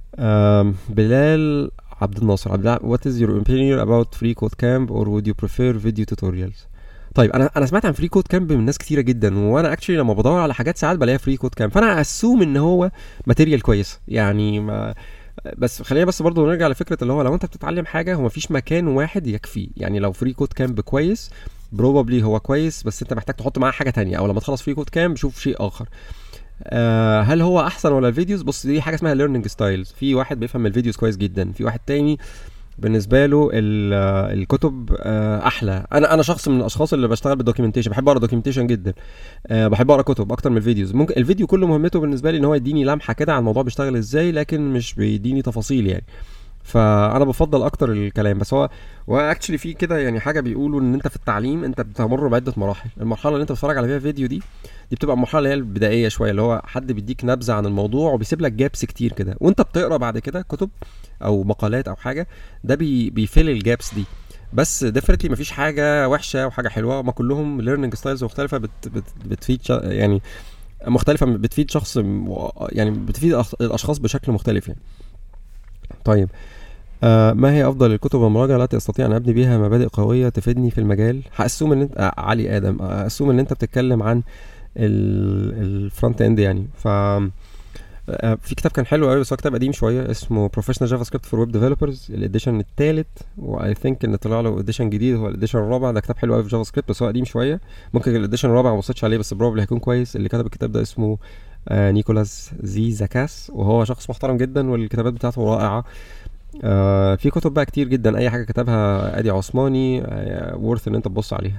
بلال عبد الناصر، what is your opinion about free code camp or would you prefer video tutorials؟ طيب انا سمعت عن فري كود كامب من ناس كتيره جدا، وانا اكشلي لما بدور على حاجات ساعات بلاقيها فري كود كامب، فانا اسوم ان هو ماتيريال كويس يعني. ما بس خلينا بس برضو نرجع لفكره اللي هو لو انت بتتعلم حاجه، هو مفيش مكان واحد يكفي يعني. لو فري كود كامب كويس بروبابلي هو كويس، بس انت محتاج تحط معاه حاجه تانية، او لما تخلص فري كود كامب شوف شيء اخر. هل هو احسن ولا الفيديوز؟ بص، دي حاجه اسمها ليرنينج ستايلز. في واحد بيفهم الفيديوز كويس جدا، في واحد تاني بالنسبه له الكتب احلى. انا شخص من الاشخاص اللي بشتغل بالدوكيومنتيشن، بحب اقرا دوكيومنتيشن جدا. بحب اقرا كتب اكتر من الفيديوز. ممكن الفيديو كله مهمته بالنسبه لي ان هو يديني لمحه كده عن الموضوع بيشتغل ازاي، لكن مش بيديني تفاصيل يعني. فانا بفضل اكتر الكلام. بس هو واكشلي في كده يعني حاجه بيقولوا ان انت في التعليم انت بتمر بعده مراحل. المرحله اللي انت بتتفرج على فيها فيديو دي بتبقى المرحله اللي هي البدائيه شويه، اللي هو حد بيديك نبذه عن الموضوع وبيسيب لك جابس كتير كده، وانت بتقرا بعد كده كتب او مقالات او حاجه، ده بيفل الجابس دي. بس ديفينتلي مفيش حاجه وحشه وحاجه حلوه، ما كلهم ليرنينج ستايلز مختلفه بتفيد يعني مختلفه، بتفيد شخص يعني بتفيد الاشخاص بشكل مختلف يعني. طيب ما هي افضل الكتب والمراجع التي استطيع ان ابني بها مبادئ قويه تفيدني في المجال؟ هاسوم ان انت علي ادم، اسوم ان انت بتتكلم عن الفرونت اند يعني. ف في كتاب كان حلو قوي بس هو كتاب قديم شويه، اسمه بروفيشنال جافا سكريبت فور ويب ديفلوبرز، الاديشن الثالث، واي ثينك ان طلع له اديشن جديد هو الاديشن الرابع. ده كتاب حلو قوي في جافا سكريبت بس هو قديم شويه. ممكن الاديشن الرابع ما بصيتش عليه بس بروبلي هيكون كويس. اللي كتب الكتاب ده اسمه نيكولاس زي زاكاس، وهو شخص محترم جدا والكتابات بتاعته رائعه. في كتب بقى كتير جدا، اي حاجه كتبها ادي عثماني وورث ان انت تبص عليها.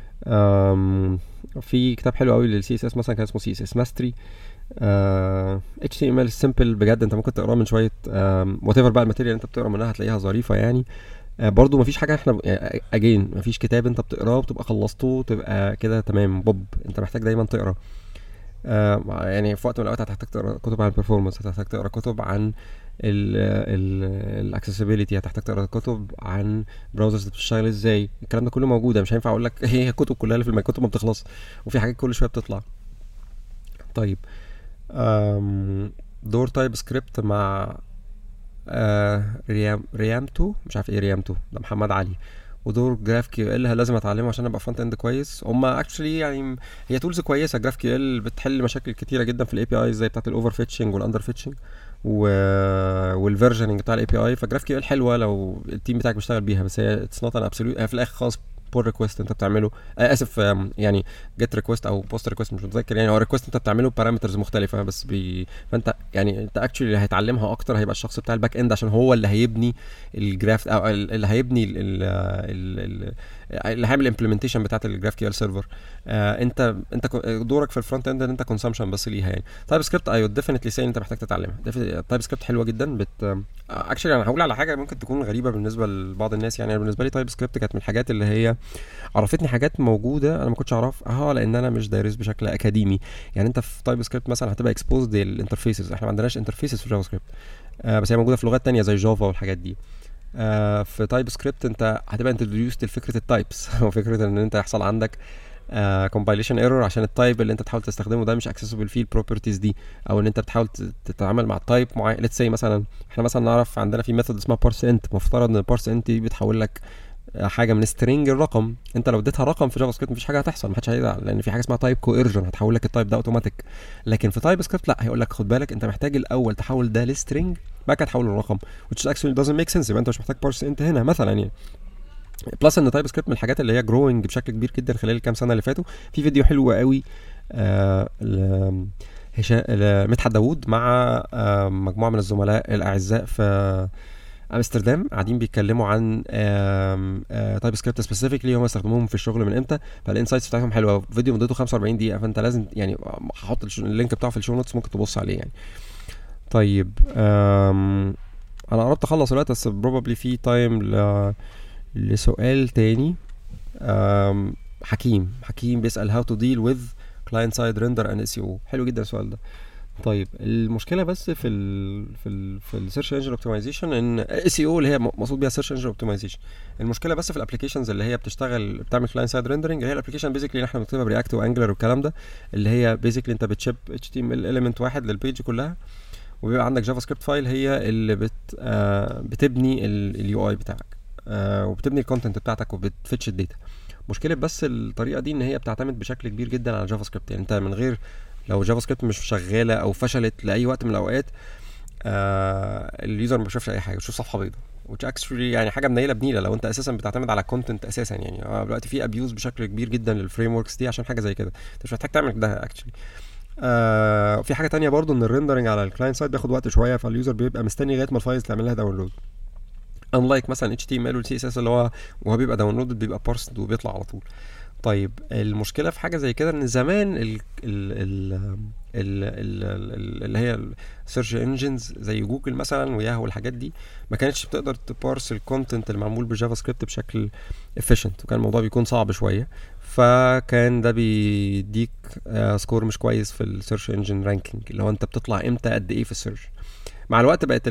في كتاب حلو قوي للسي اس اس مثلا، كان اسمه سي اس اس ماستري. اتش تي ام ال سمبل بجد، انت ممكن تقراه من شويه وات ايفر بقى الماتيريال انت بتقرا منها هتلاقيها ظريفه يعني. برضو مفيش حاجه احنا اجين مفيش كتاب انت بتقراه وبتبقى خلصته تبقى كده تمام بوب. انت محتاج دايما تقرا. يعني في وقت من الاوقات هتحتاج تقرا كتب عن البرفورمانس، هتحتاج تقرا كتب عن الاكسسبيليتي، هتحتاج تقرا كتب عن براوزرز بتشتغل ازاي. الكلام ده كله موجود، مش هينفع اقول لك هي الكتب كلها اللي في الكتب ما بتخلص، وفي حاجات كل شويه بتطلع. طيب دور تايب سكريبت مع ريامتو، مش عارف ايه ريامتو ده، محمد علي. ودور جراف كيو ال لازم اتعلمه عشان ابقى فرونت اند كويس. هما اكشلي يعني هي تولز كويسه. جراف كيو ال بتحل مشاكل كتيره جدا في الاي بي اي زي بتاعه الاوفر فيتشنج والاندر فيتشنج والفيرجننج بتاع الاي بي اي. فجراف كيو ال حلوه لو التيم بتاعك بيشتغل بيها، بس هي اتس نوت ان ابسوليوت. في الاخر خالص بول ريكويست انت بتعمله اسف يعني جيت ريكويست او بوست ريكويست مش متذكر يعني. هو ريكويست انت بتعمله بارامترز مختلفه بس فانت يعني انت اكشلي اللي هيتعلمها اكتر هيبقى الشخص بتاع الباك اند، عشان هو اللي هيبني الجراف او اللي هيبني اللي هيعمل الامبلمنتيشن بتاعت الجراف كيو ال سيرفر. انت دورك في الفرونت اند ان انت كونسامشن بس ليها يعني. تايب سكريبت ايوه ديفينتلي سي انت محتاج تتعلمها. تايب سكريبت حلوه جدا. اكشلي انا هقول على حاجه ممكن تكون غريبه بالنسبه لبعض الناس يعني. بالنسبه لي تايب سكريبت كانت من الحاجات اللي هي عرفتني حاجات موجوده انا ما كنتش اعرفها لان انا مش دارس بشكل اكاديمي يعني. انت في تايب سكريبت مثلا هتبقى اكسبوزد للانترفيسز، احنا ما عندناش انترفيسز في جافا سكريبت بس هي موجوده في لغات تانية زي جافا والحاجات دي. في تايب سكريبت انت هتبقى انتروديوست لفكره التايبس وفكره ان انت يحصل عندك compilation error عشان التايب اللي انت تحاول تستخدمه ده مش accessible فيه البروبرتيز دي، او ان انت بتحاول تتعامل مع تايب معين. let's say مثلا احنا مثلا نعرف عندنا في ميثود اسمها parse int، مفترض ان parse int دي بتحول لك حاجه من سترينج الرقم. انت لو اديتها رقم في جافا سكريبت مفيش حاجه هتحصل، محدش هيزعل لان في حاجه اسمها تايب كويرجن هتحول لك التايب ده اوتوماتيك. لكن في تايب سكريبت لا، هيقول لك خد بالك انت محتاج الاول تحول ده لسترينج بعد كده تحول الرقم which actually doesn't make sense. يبقى انت مش محتاج parse int هنا مثلا يعني. بلس ان تايب سكريبت من الحاجات اللي هي جروينج بشكل كبير جدا خلال الكام سنه اللي فاتوا. في فيديو حلو قوي مدحت داوود مع مجموعه من الزملاء الاعزاء في امستردام قاعدين بيتكلموا عن تايب سكريبت سبيسيفيكلي هم استخدموهم في الشغل من امتى. فالانسايتس بتاعتهم حلوه. فيديو مدته 45 دقيقه فانت لازم يعني هحط اللينك بتاعه في الشو نوتس ممكن تبص عليه يعني. طيب انا قربت اخلص الوقت بس بروبابلي في تايم لسؤال تاني. حكيم بيسأل how to deal with client side render and SEO. حلو جدا السؤال ده. طيب المشكله بس في السيرش انجن اوبتمايزيشن ان اس اي او اللي هي مقصود بيها سيرش انجن اوبتمايزيشن. المشكله بس في الابلكيشنز اللي هي بتعمل كلاينت سايد ريندرنج، اللي هي الابلكيشن بيزيكلي اللي احنا بنكتبها برياكت وانجلر والكلام ده، اللي هي بيزيكلي انت بتشيب اتش تي ام ال اليمنت واحد للبيج كلها، وبيبقى عندك جافا سكريبت فايل هي اللي بتبني اليو اي بتاعك، وبتبني الكونتنت بتاعتك وبتفتش الداتا. مشكله بس الطريقه دي ان هي بتعتمد بشكل كبير جدا على جافا سكريبت. يعني انت من غير، لو جافا سكريبت مش شغاله او فشلت لاي وقت من الاوقات، اليوزر ما بيشوفش اي حاجه، بيشوف صفحه بيضاء، which actually يعني حاجه منيله بنيله لو انت اساسا بتعتمد على كونتنت اساسا. يعني دلوقتي في ابيوز بشكل كبير جدا للفريم وركس دي عشان حاجه زي كده، انت مش محتاج تعمل ده اكشلي. في حاجه تانية برضو ان الريندرنج على الكلاينت سايد بياخد وقت شويه، فاليوزر بيبقى مستني لغايه ما الفايلز تعمل لها داونلود، unlike مثلا HTML وال CSS اللي هو وهو بيبقى داونلود بيبقى بارسد وبيطلع على طول. طيب المشكله في حاجه زي كده ان زمان اللي هي السيرش انجنز زي جوجل مثلا وياهو والحاجات دي ما كانتش بتقدر تبارس الكونتنت المعمول بالجافا سكريبت بشكل efficient، وكان الموضوع بيكون صعب شويه، فكان ده بيديك سكور مش كويس في السيرش انجن رانكينج، اللي هو انت بتطلع امتى قد ايه في السيرش. مع الوقت بقت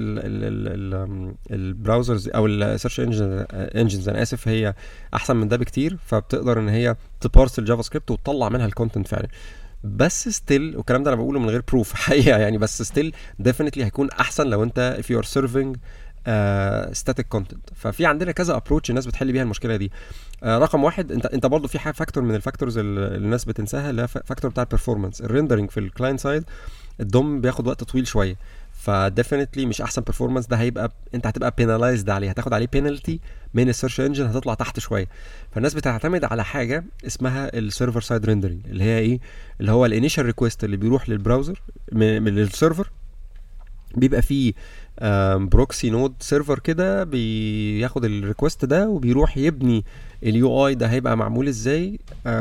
البراوزرز او السيرش انجنز انا اسف هي احسن من ده بكتير، فبتقدر ان هي تبارس الجافا سكريبت وتطلع منها الكونتنت فعلا. بس ستيل، والكلام ده انا بقوله من غير بروف حقيقه يعني، بس ستيل ديفينتلي هيكون احسن لو انت if you are serving static content. ففي عندنا كذا ابروتش الناس بتحل بيها المشكله دي. رقم واحد، انت برضو في فاكتور من الفاكتورز اللي الناس بتنساها، اللي هي فاكتور بتاع البرفورمانس. الريندرنج في الكلاينت سايد الدوم بياخد وقت طويل شويه، فديفينتلي مش احسن performance. ده هيبقى انت هتبقى penalized عليه، هتاخد عليه penalty من السيرش انجن، هتطلع تحت شويه. فالناس بتعتمد على حاجه اسمها السيرفر سايد ريندرنج، اللي هي ايه؟ اللي هو الانيشال ريكويست اللي بيروح للبراوزر من السيرفر، بيبقى فيه بروكسي نود سيرفر كده بياخد الريكوست ده وبيروح يبني اليو اي ده هيبقى معمول ازاي،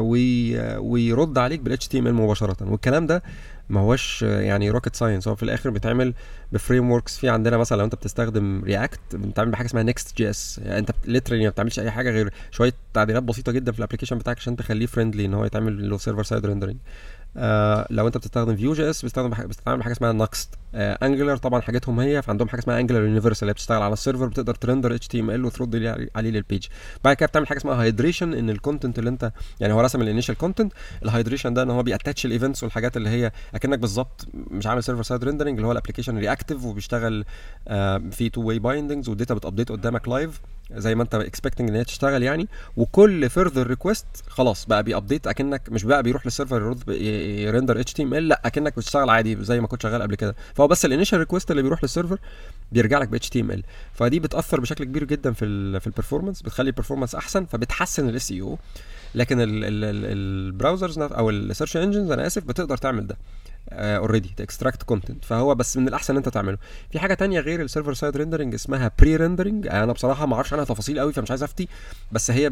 ويرد عليك بالاتش تي ام ال مباشره. والكلام ده ما هوش يعني روكيت ساينس، هو في الاخر بيتعمل بفريم وركس. في عندنا مثلا لو انت بتستخدم رياكت بتعمل بحاجه اسمها نيكست جي اس، يعني انت ليترالي ما بتعملش اي حاجه غير شويه تعديلات بسيطه جدا في الابلكيشن بتاعك عشان تخليه فريندلي ان هو يتعمل له سيرفر سايد ريندرنج. لو انت بتستخدم فيو جي اس بتستعمل حاجه اسمها نكست. انجلر طبعا حاجاتهم هي، فعندهم حاجه اسمها انجلر يونيفرسال اللي بتشتغل على السيرفر، بتقدر ترندر اتش تي ام ال وترد عليه للبيج. بعد كده بتعمل حاجه اسمها هايدريشن، ان الكونتنت اللي انت يعني هو رسم الانيشال كونتنت، الهايدريشن ده ان هو بياتاتش الايفنتس والحاجات اللي هي اكنك بالظبط مش عامل سيرفر سايد ريندرنج، اللي هو الابلكيشن رياكتيف وبيشتغل في تو واي بايندنجز، والداتا بتابديت قدامك لايف زي ما انت اكسبكتنج ان هي تشتغل يعني. وكل فيرذر ريكويست خلاص بقى بيابديت، اكنك مش بقى بيروح للسيرفر يرندر اتش تي ام ال، لا اكنك بتشتغل عادي زي ما كنت شغال قبل كده. فهو بس الانيشال ريكويست اللي بيروح للسيرفر بيرجع لك ب اتش تي ام ال، فدي بتاثر بشكل كبير جدا في البرفورمانس، بتخلي البرفورمانس احسن، فبتحسن الاس اي او. لكن البراوزرز او السيرش انجنز انا اسف بتقدر تعمل ده اوريدي تاكستراكت كونتنت، فهو بس من الاحسن انت تعمله. في حاجه تانية غير السيرفر سايد ريندرنج اسمها بري ريندرنج، انا بصراحه ما اعرفش عنها تفاصيل قوي فمش عايز افتي، بس هي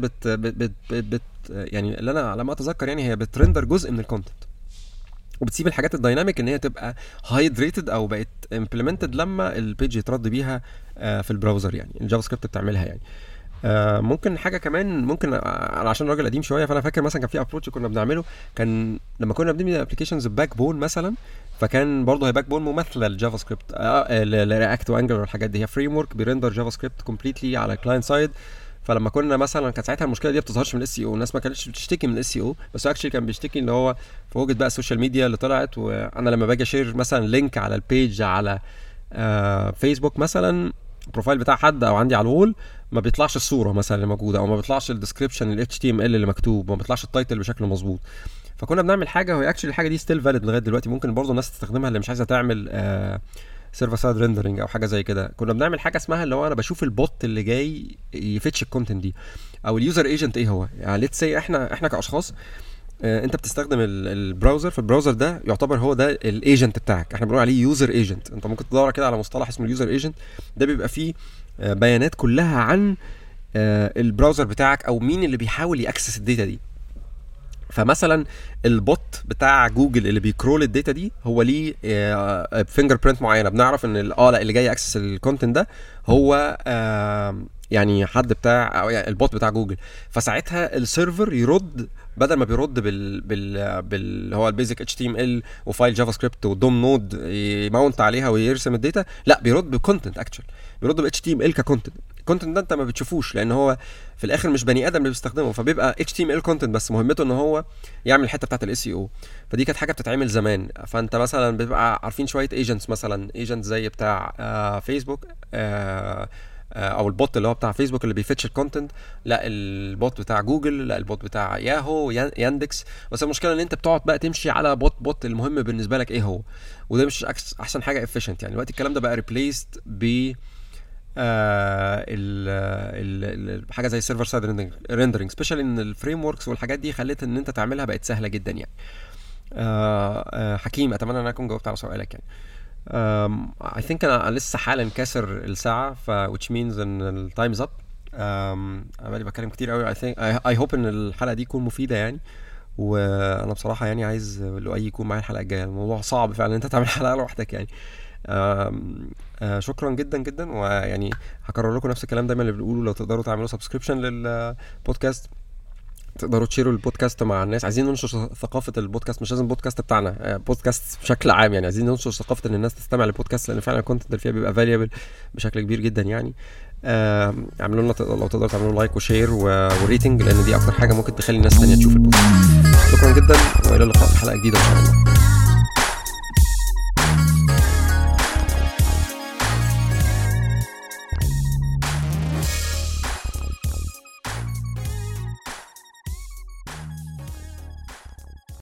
بت يعني اللي انا على ما اتذكر يعني هي بترندر جزء من الكونتنت، وبتسيب الحاجات الدايناميك ان هي تبقى هايدريتد او بقت امبلمنتد لما البيج يترد بيها في البراوزر، يعني الجافا سكريبت بتعملها يعني. ممكن حاجه كمان، ممكن عشان راجل قديم شويه فانا فاكر مثلا كان في ابروتش كنا بنعمله، كان لما كنا بنبني ابلكيشنز باك بون مثلا، فكان برضه هي باك بون مماثله للجافا سكريبت، لرياكت وانجلر والحاجات دي، هي فريم ورك بيرندر جافا سكريبت كومبليتلي على كلاينت سايد. فلما كنا مثلا كانت ساعتها المشكله دي ما بتظهرش من الاس سي او، الناس ما كانتش بتشتكي من الاس سي او، بس اكشلي كان بيشتكي ان هو فوجد بقى السوشيال ميديا اللي طلعت، وانا لما باجي اشير مثلا لينك على البيج على فيسبوك مثلا، البروفايل بتاع حد او عندي على الوول، ما بيطلعش الصوره مثلا اللي موجوده، او ما بيطلعش الديسكريبشن الاتش تي ام ال اللي مكتوب، ما بيطلعش التايتل بشكل مظبوط. فكنا بنعمل حاجه، وهي اكشلي الحاجه دي ستيل فاليد لغايه دلوقتي، ممكن برضه الناس تستخدمها اللي مش عايزه تعمل سيرفر سايد ريندرنج او حاجه زي كده. كنا بنعمل حاجه اسمها اللي هو انا بشوف البوت اللي جاي يفتش الكونتنت دي، او اليوزر ايجنت ايه هو. يعني ليتس سي احنا كاشخاص، انت بتستخدم البراوزر، فالبراوزر ده يعتبر هو ده الايجنت بتاعك، احنا بنقول عليه يوزر ايجنت. انت ممكن تدور كده على مصطلح اسمه اليوزر ايجنت، ده بيبقى فيه بيانات كلها عن البراوزر بتاعك او مين اللي بيحاول ياكسس الداتا دي. فمثلا البوت بتاع جوجل اللي بيكرول الداتا دي هو ليه فينجر برينت معينه، بنعرف ان لا اللي جاي اكسس الكونتنت ده هو يعني حد بتاع أو يعني البوت بتاع جوجل. فساعتها السيرفر يرد، بدل ما بيرد بال هو البيزك اتش تي ام ال وفايل جافا سكريبت والدوم نود يماونت عليها ويرسم الداتا، لا بيرد بكونتنت اكشن، بيرد ب اتش تي ام ال ككونتنت. الكونتنت ده انت ما بتشوفوش لان هو في الاخر مش بني ادم اللي بيستخدمه، فبيبقى اتش تي ام ال كونتنت بس مهمته ان هو يعمل الحته بتاعه الاس اي او. فدي كانت حاجه بتتعمل زمان. فانت مثلا بيبقى عارفين شويه ايجنتس، مثلا ايجنت زي بتاع فيسبوك او البوت اللي هو بتاع فيسبوك اللي بيفتش الكونتنت، لا البوت بتاع جوجل، لا البوت بتاع ياهو ياندكس. بس المشكله ان انت بتقعد بقى تمشي على بوت المهم بالنسبه لك ايه هو، وده مش احسن حاجه efficient يعني. دلوقتي الكلام ده بقى ريبليسد ب حاجه زي السيرفر سايد ريندرنج، سبيشال ان الفريم وركس والحاجات دي خلت ان انت تعملها بقت سهله جدا يعني. حكيم، اتمنى ان انا اكون جاوبت على سؤالك يعني. I think انا لسه حالا كاسر الساعه، which means ان التايمز اب. انا بقالي بتكلم كتير قوي. I hope ان الحلقه دي تكون مفيده يعني. وانا بصراحه يعني عايز لؤي يكون معايا الحلقه الجايه. الموضوع صعب فعلا ان انت تعمل حلقه لوحدك يعني. شكرا جدا جدا. ويعني هكرر لكم نفس الكلام دايما اللي بنقوله، لو تقدروا تعملوا سبسكريبشن للبودكاست، تقدروا تشيروا البودكاست مع الناس. عايزين ننشر ثقافه البودكاست، مش لازم بودكاست بتاعنا، بودكاست بشكل عام يعني. عايزين ننشر ثقافه ان الناس تستمع للبودكاست، لان فعلا الكونتنت اللي فيها بيبقى فاليبل بشكل كبير جدا يعني. اعملوا لنا لو تقدروا تعملوا لايك وشير وريتنج، لان دي اكتر حاجه ممكن تخلي الناس ثانيه تشوف البودكاست. شكرا جدا، والى اللقاء في حلقه جديده ان شاء الله.